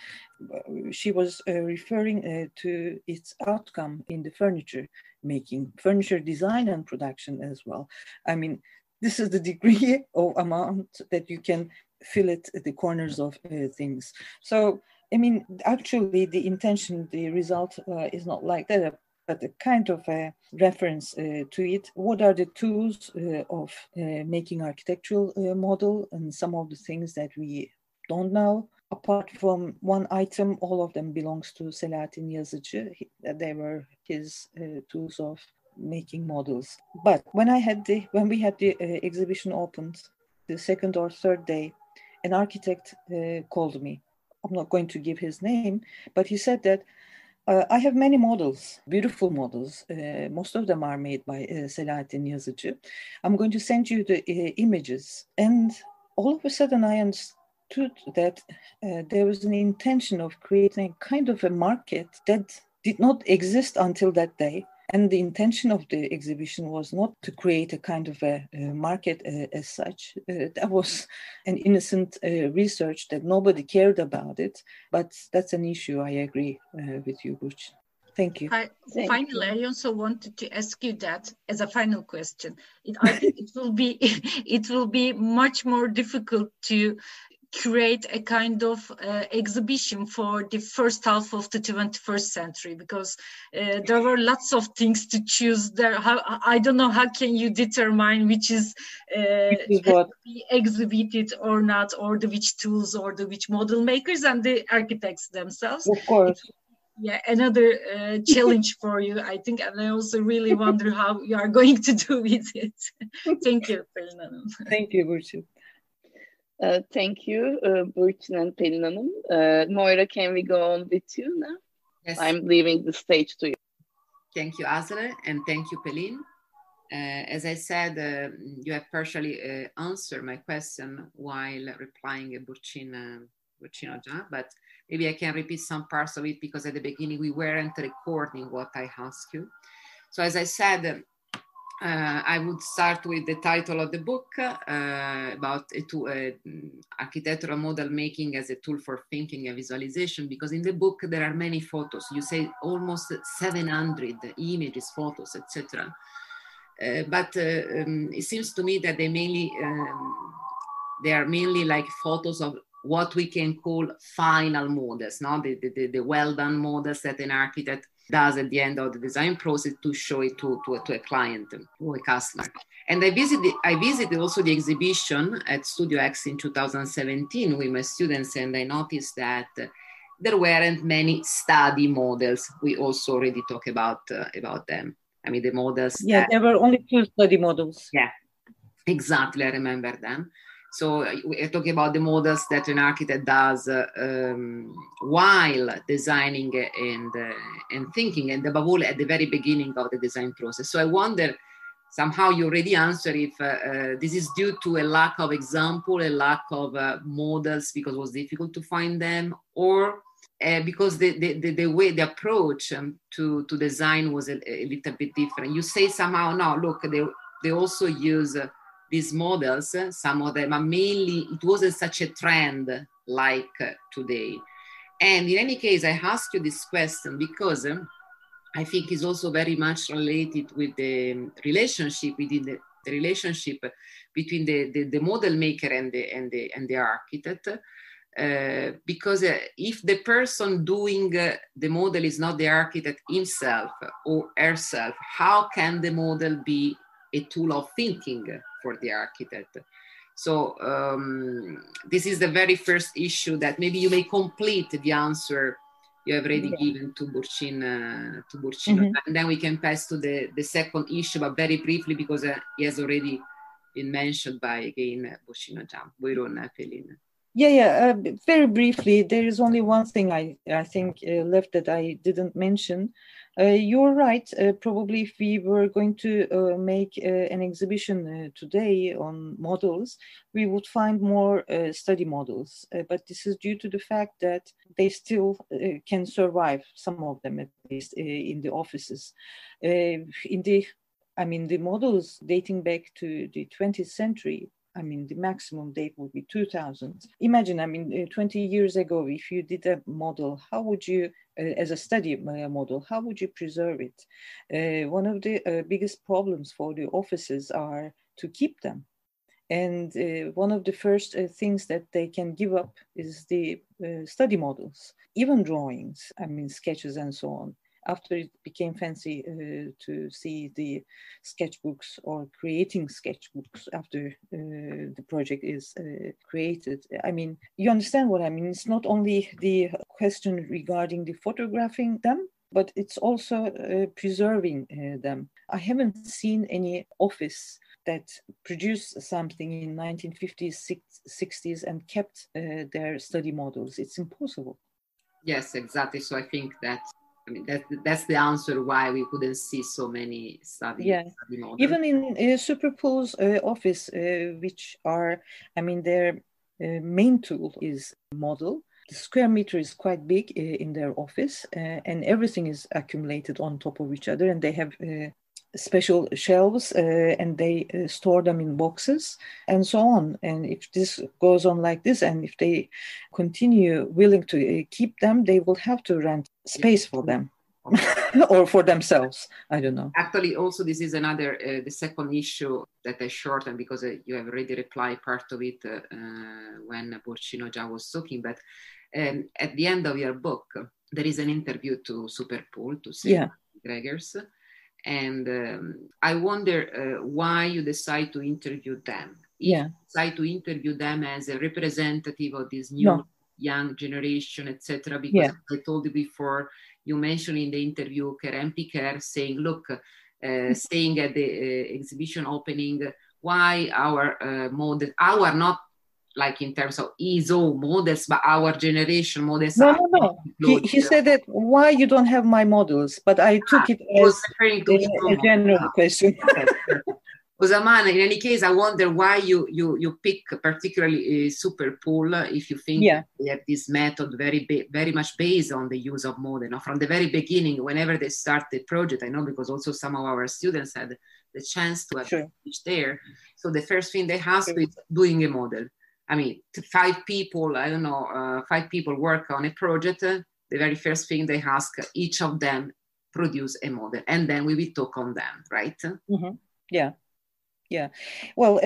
she was referring to its outcome in the furniture making, furniture design and production as well. I mean, this is the degree of amount that you can fillet the corners of things. So, I mean, actually the intention, the result is not like that, but a kind of a reference to it. What are the tools of making architectural model, and some of the things that we don't know? Apart from one item, all of them belongs to Selahattin Yazıcı. They were his tools of making models. But when we had the exhibition opened, the second or third day, an architect called me. I'm not going to give his name, but he said that I have many models, beautiful models. Most of them are made by Selahattin Yazıcı. I'm going to send you the images. And all of a sudden I understood that there was an intention of creating a kind of a market that did not exist until that day. And the intention of the exhibition was not to create a kind of a market as such. That was an innocent research that nobody cared about it. But that's an issue. I agree with you, Burç. Thank you. Finally, I also wanted to ask you that as a final question. I think it will be much more difficult to create a kind of exhibition for the first half of the 21st century, because there were lots of things to choose there. I don't know, how can you determine which is to be exhibited or not, or which tools, or which model makers and the architects themselves? Of course. Another challenge for you, I think, and I also really wonder how you are going to do with it. Thank you, Pelin Hanım. Thank you, Burçin. Thank you, Burçin and Pelin Hanım. Moira, can we go on with you now? Yes. I'm leaving the stage to you. Thank you, Azra, and thank you, Pelin. As I said, you have partially answered my question while replying to Burçin Hoca, but maybe I can repeat some parts of it, because at the beginning we weren't recording what I asked you. So as I said, I would start with the title of the book about architectural model making as a tool for thinking and visualization, because in the book there are many photos. You say almost 700 images, photos, etc. But it seems to me that they are mainly like photos of what we can call final models, no? The well-done models that an architect does at the end of the design process to show it to a client or a customer. And I visited also the exhibition at Studio X in 2017 with my students, and I noticed that there weren't many study models. We also already talked about them. I mean, the models. Yeah, there were only 2 study models. Yeah, exactly. I remember them. So we're talking about the models that an architect does while designing and thinking, and above all at the very beginning of the design process. So I wonder, somehow you already answered, if this is due to a lack of example, a lack of models because it was difficult to find them, or because the way, the approach to design was a little bit different. You say somehow, no, look, they also use these models, some of them are mainly, it wasn't such a trend like today. And in any case, I asked you this question because I think it's also very much related with the relationship within the relationship between the model maker and the architect. Because if the person doing the model is not the architect himself or herself, how can the model be a tool of thinking for the architect? So this is the very first issue that maybe you may complete the answer you have already given to Burçin. Mm-hmm. And then we can pass to the second issue, but very briefly, because he has already been mentioned by, again, Burçin Hoca. Buyurun, Pelin. Very briefly, there is only one thing I think left that I didn't mention. You're right. Probably if we were going to make an exhibition today on models, we would find more study models. But this is due to the fact that they still can survive, some of them at least, in the offices. The models dating back to the 20th century, the maximum date would be 2000. Imagine, 20 years ago, if you did a model, how would you, as a study model, how would you preserve it? One of the biggest problems for the offices are to keep them. And one of the first things that they can give up is the study models, even drawings, sketches and so on. After it became fancy to see the sketchbooks or creating sketchbooks after the project is created. You understand what I mean? It's not only the question regarding the photographing them, but it's also preserving them. I haven't seen any office that produced something in 1950s, 60s and kept their study models. It's impossible. Yes, exactly. So I think that's the answer why we couldn't see so many study models. Even in Superpool's office, which are, their main tool is model. The square meter is quite big in their office, and everything is accumulated on top of each other, and they have special shelves and they store them in boxes and so on. And if this goes on like this, and if they continue willing to keep them, they will have to rent space for them. or for themselves. I don't know. Actually, also this is another, the second issue that I shortened because you have already replied part of it when Porcino Già was talking. But at the end of your book, there is an interview to Superpool, to Selva Gregers. And I wonder why you decide to interview them. You decide to interview them as a representative of this new young generation, etc. Because I told you before, you mentioned in the interview Keren Piquer saying, look, saying at the exhibition opening, why our model, our not like in terms of ISO models, but our generation models. No. He said that, why you don't have my models? But I took it as a general question. Osamana, in any case, I wonder why you pick particularly Superpool if you think they have this method very much based on the use of model. Now, from the very beginning, whenever they start the project, I know because also some of our students had the chance to have teach there. So the first thing they ask is doing a model. I mean, 5 people, I don't know, 5 people work on a project. The very first thing they ask, each of them produce a model, and then we will talk on them, right? Mm-hmm. Yeah. Well,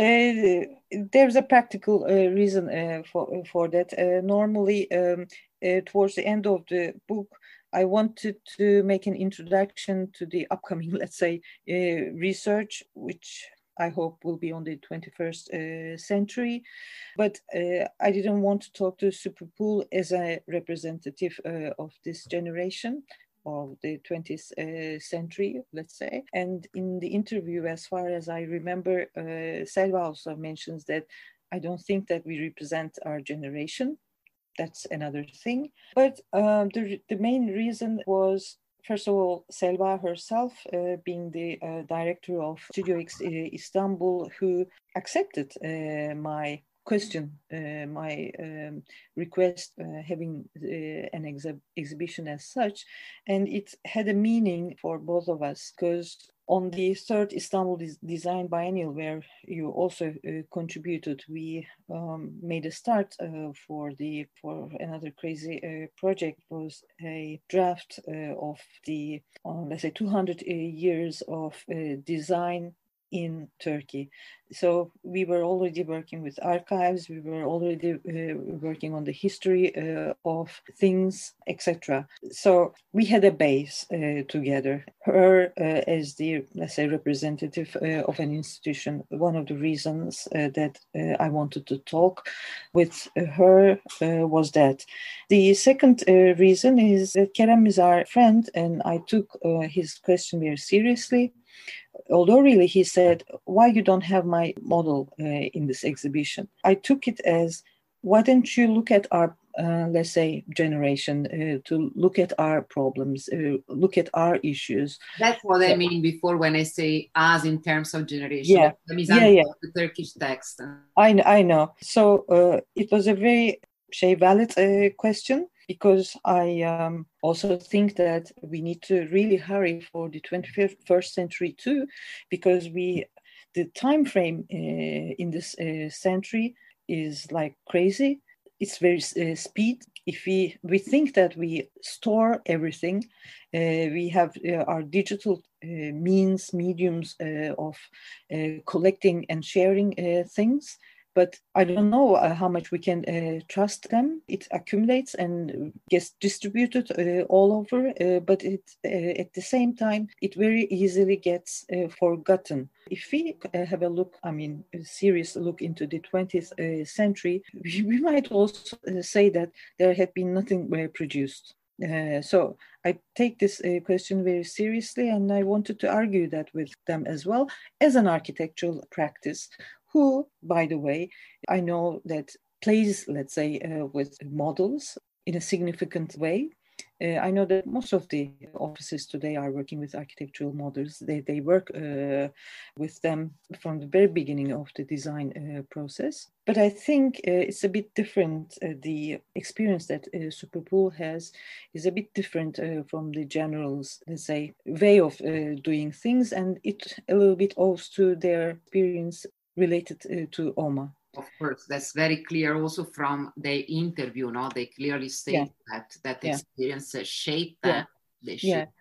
there's a practical reason for that. Normally, towards the end of the book, I wanted to make an introduction to the upcoming, let's say, research, which I hope will be on the 21st century. But I didn't want to talk to Superpool as a representative of this generation of the 20th century, let's say. And in the interview, as far as I remember, Selva also mentions that I don't think that we represent our generation. That's another thing. But the main reason was, first of all, Selva herself, being the director of Studio X Istanbul, who accepted my question, my request, having an exhibition as such. And it had a meaning for both of us, because on the third Istanbul Design Biennial, where you also contributed, we made a start for another crazy project. It was a draft of the, let's say, 200 years of design in Turkey. So we were already working with archives, we were already working on the history of things, etc. So we had a base together. Her as the, let's say, representative of an institution, one of the reasons that I wanted to talk with her was that. The second reason is that Kerem is our friend, and I took his question very seriously. Although really he said, why you don't have my model in this exhibition? I took it as, why don't you look at our, let's say, generation, to look at our problems, look at our issues. That's what I mean before when I say us in terms of generation. The Turkish text. I know. So it was a very valid question, because I also think that we need to really hurry for the 21st century too, because the time frame in this century is like crazy. It's very speed. If we think that we store everything, we have our digital mediums of collecting and sharing things. But I don't know how much we can trust them. It accumulates and gets distributed all over, but at the same time, it very easily gets forgotten. If we have a look, a serious look into the 20th century, we might also say that there had been nothing produced. So I take this question very seriously, and I wanted to argue that with them as well as an architectural practice, who, by the way, I know that plays, let's say, with models in a significant way. I know that most of the offices today are working with architectural models. They work with them from the very beginning of the design process. But I think it's a bit different. The experience that Superpool has is a bit different from the general's, let's say, way of doing things. And it a little bit owes to their experience related to OMA. Of course, that's very clear also from the interview. No, they clearly state that experience shaped them.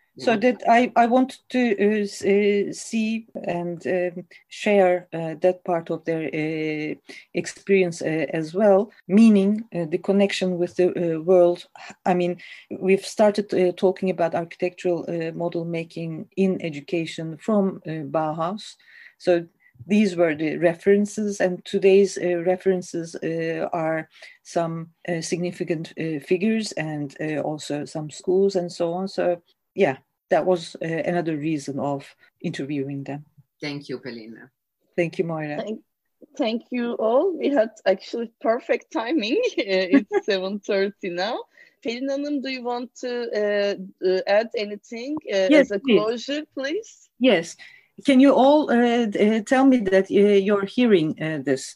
So that I want to see and share that part of their experience as well, meaning the connection with the world. I mean, we've started talking about architectural model making in education from Bauhaus. So these were the references, and today's references are some significant figures and also some schools and so on. So yeah, that was another reason of interviewing them. Thank you, Pelin. Thank you, Moira. Thank you all. We had actually perfect timing. It's 7:30 now. Pelin Hanım, do you want to add anything Yes, as a closure, please? Yes. Can you all tell me that you're hearing this?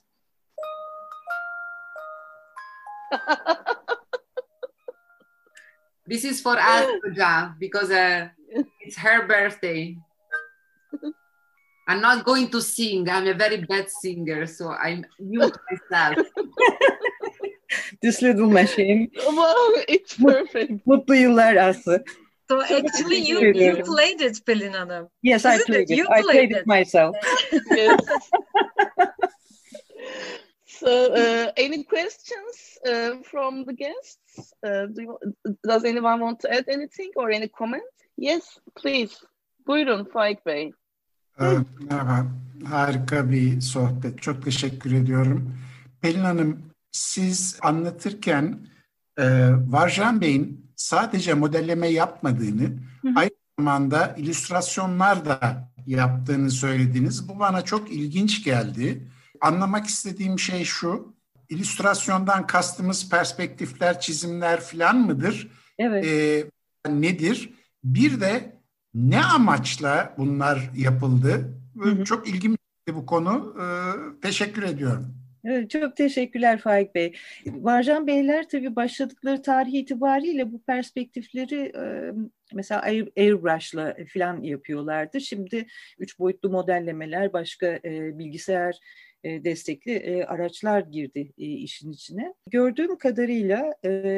This is for Asja because it's her birthday. I'm not going to sing. I'm a very bad singer, so I'm mute myself. This little machine. Wow, it's perfect. Mutlu yıllar Aslı. So actually you played it, Pelin Hanım. Yes, I played it. I played it myself. Yes. So, any questions from the guests? Does anyone want to add anything or any comment? Yes, please. Buyurun Faik Bey. Merhaba. Harika bir sohbet. Çok teşekkür ediyorum. Pelin Hanım, siz anlatırken Varjan Bey'in sadece modelleme yapmadığını, aynı zamanda illüstrasyonlar da yaptığını söylediniz. Bu bana çok ilginç geldi. Anlamak istediğim şey şu, illüstrasyondan kastımız perspektifler, çizimler falan mıdır? Evet. Nedir? Bir de ne amaçla bunlar yapıldı? Çok ilgimi çekti bu konu. Teşekkür ediyorum. Evet, çok teşekkürler Faik Bey. Varjan Beyler tabii başladıkları tarih itibariyle bu perspektifleri mesela airbrush'la falan yapıyorlardı. Şimdi 3 boyutlu modellemeler, başka bilgisayar destekli araçlar girdi işin içine. Gördüğüm kadarıyla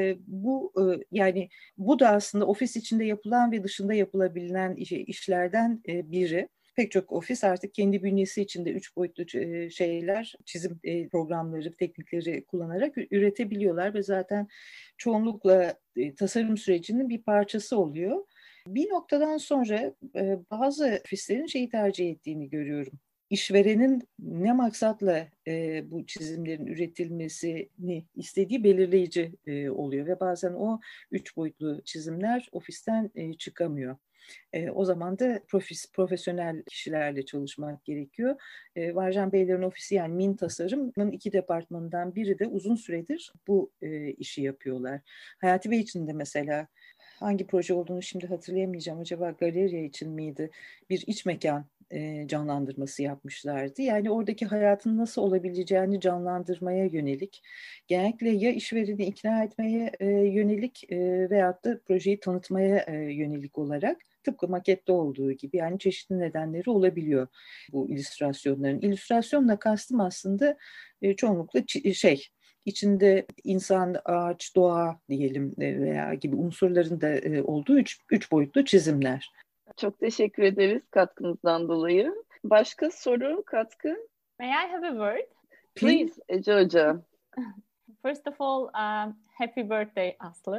yani bu da aslında ofis içinde yapılan ve dışında yapılabilen işlerden biri. Pek çok ofis artık kendi bünyesi içinde 3 boyutlu şeyler, çizim programları, teknikleri kullanarak üretebiliyorlar ve zaten çoğunlukla tasarım sürecinin bir parçası oluyor. Bir noktadan sonra bazı ofislerin şeyi tercih ettiğini görüyorum. İşverenin ne maksatla bu çizimlerin üretilmesini istediği belirleyici oluyor ve bazen o 3 boyutlu çizimler ofisten çıkamıyor. O zaman da profesyonel kişilerle çalışmak gerekiyor. Varjan Beylerin ofisi yani Min Tasarım'ın 2 departmanından biri de uzun süredir bu işi yapıyorlar. Hayati Bey için de mesela hangi proje olduğunu şimdi hatırlayamayacağım. Acaba galeriya için miydi? Bir iç mekan canlandırması yapmışlardı. Yani oradaki hayatın nasıl olabileceğini canlandırmaya yönelik, genellikle ya işvereni ikna etmeye yönelik veyahut da projeyi tanıtmaya yönelik olarak tıpkı makette olduğu gibi yani çeşitli nedenleri olabiliyor bu illüstrasyonların. İllüstrasyonla kastım aslında çoğunlukla içinde insan, ağaç, doğa diyelim veya gibi unsurların da olduğu üç boyutlu çizimler. Çok teşekkür ederiz katkınızdan dolayı. Başka soru, katkı? May I have a word? Please, Ece Hoca. First of all, happy birthday, Aslı.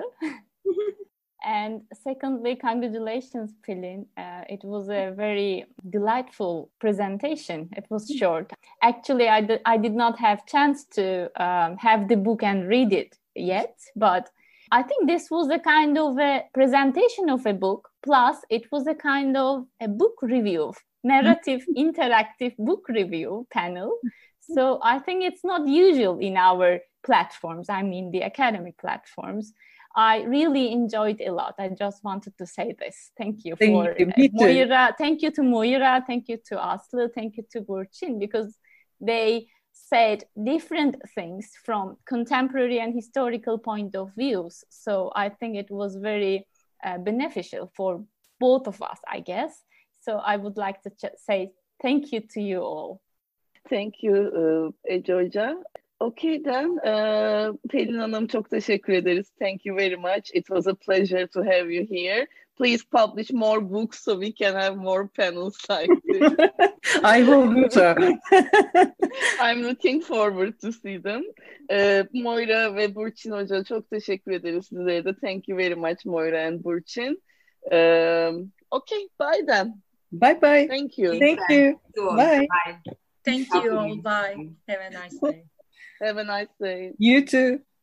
And secondly, congratulations, Pelin. It was a very delightful presentation. It was short. Actually, I did not have chance to have the book and read it yet, but I think this was a kind of a presentation of a book, plus it was a kind of a book review, narrative, interactive book review panel. So I think it's not usual in our platforms, I mean the academic platforms. I really enjoyed a lot. I just wanted to say this. Thank you for Moira. Thank you to Moira. Thank you to Aslı. Thank you to Burçin, because they said different things from contemporary and historical point of views. So I think it was very beneficial for both of us, I guess. So I would like to say thank you to you all. Thank you, Ece Hoca. Okay then. Pelin Hanım, çok teşekkür ederiz. Thank you very much. It was a pleasure to have you here. Please publish more books so we can have more panels like this. I will do so. I'm looking forward to see them. Moira ve Burçin Hoca, çok teşekkür ederiz sizlere de. Thank you very much Moira and Burçin. Okay, bye then. Bye bye. Thank you. Thank you. Bye. Thank you all. Bye. Have a nice day. Have a nice day. You too.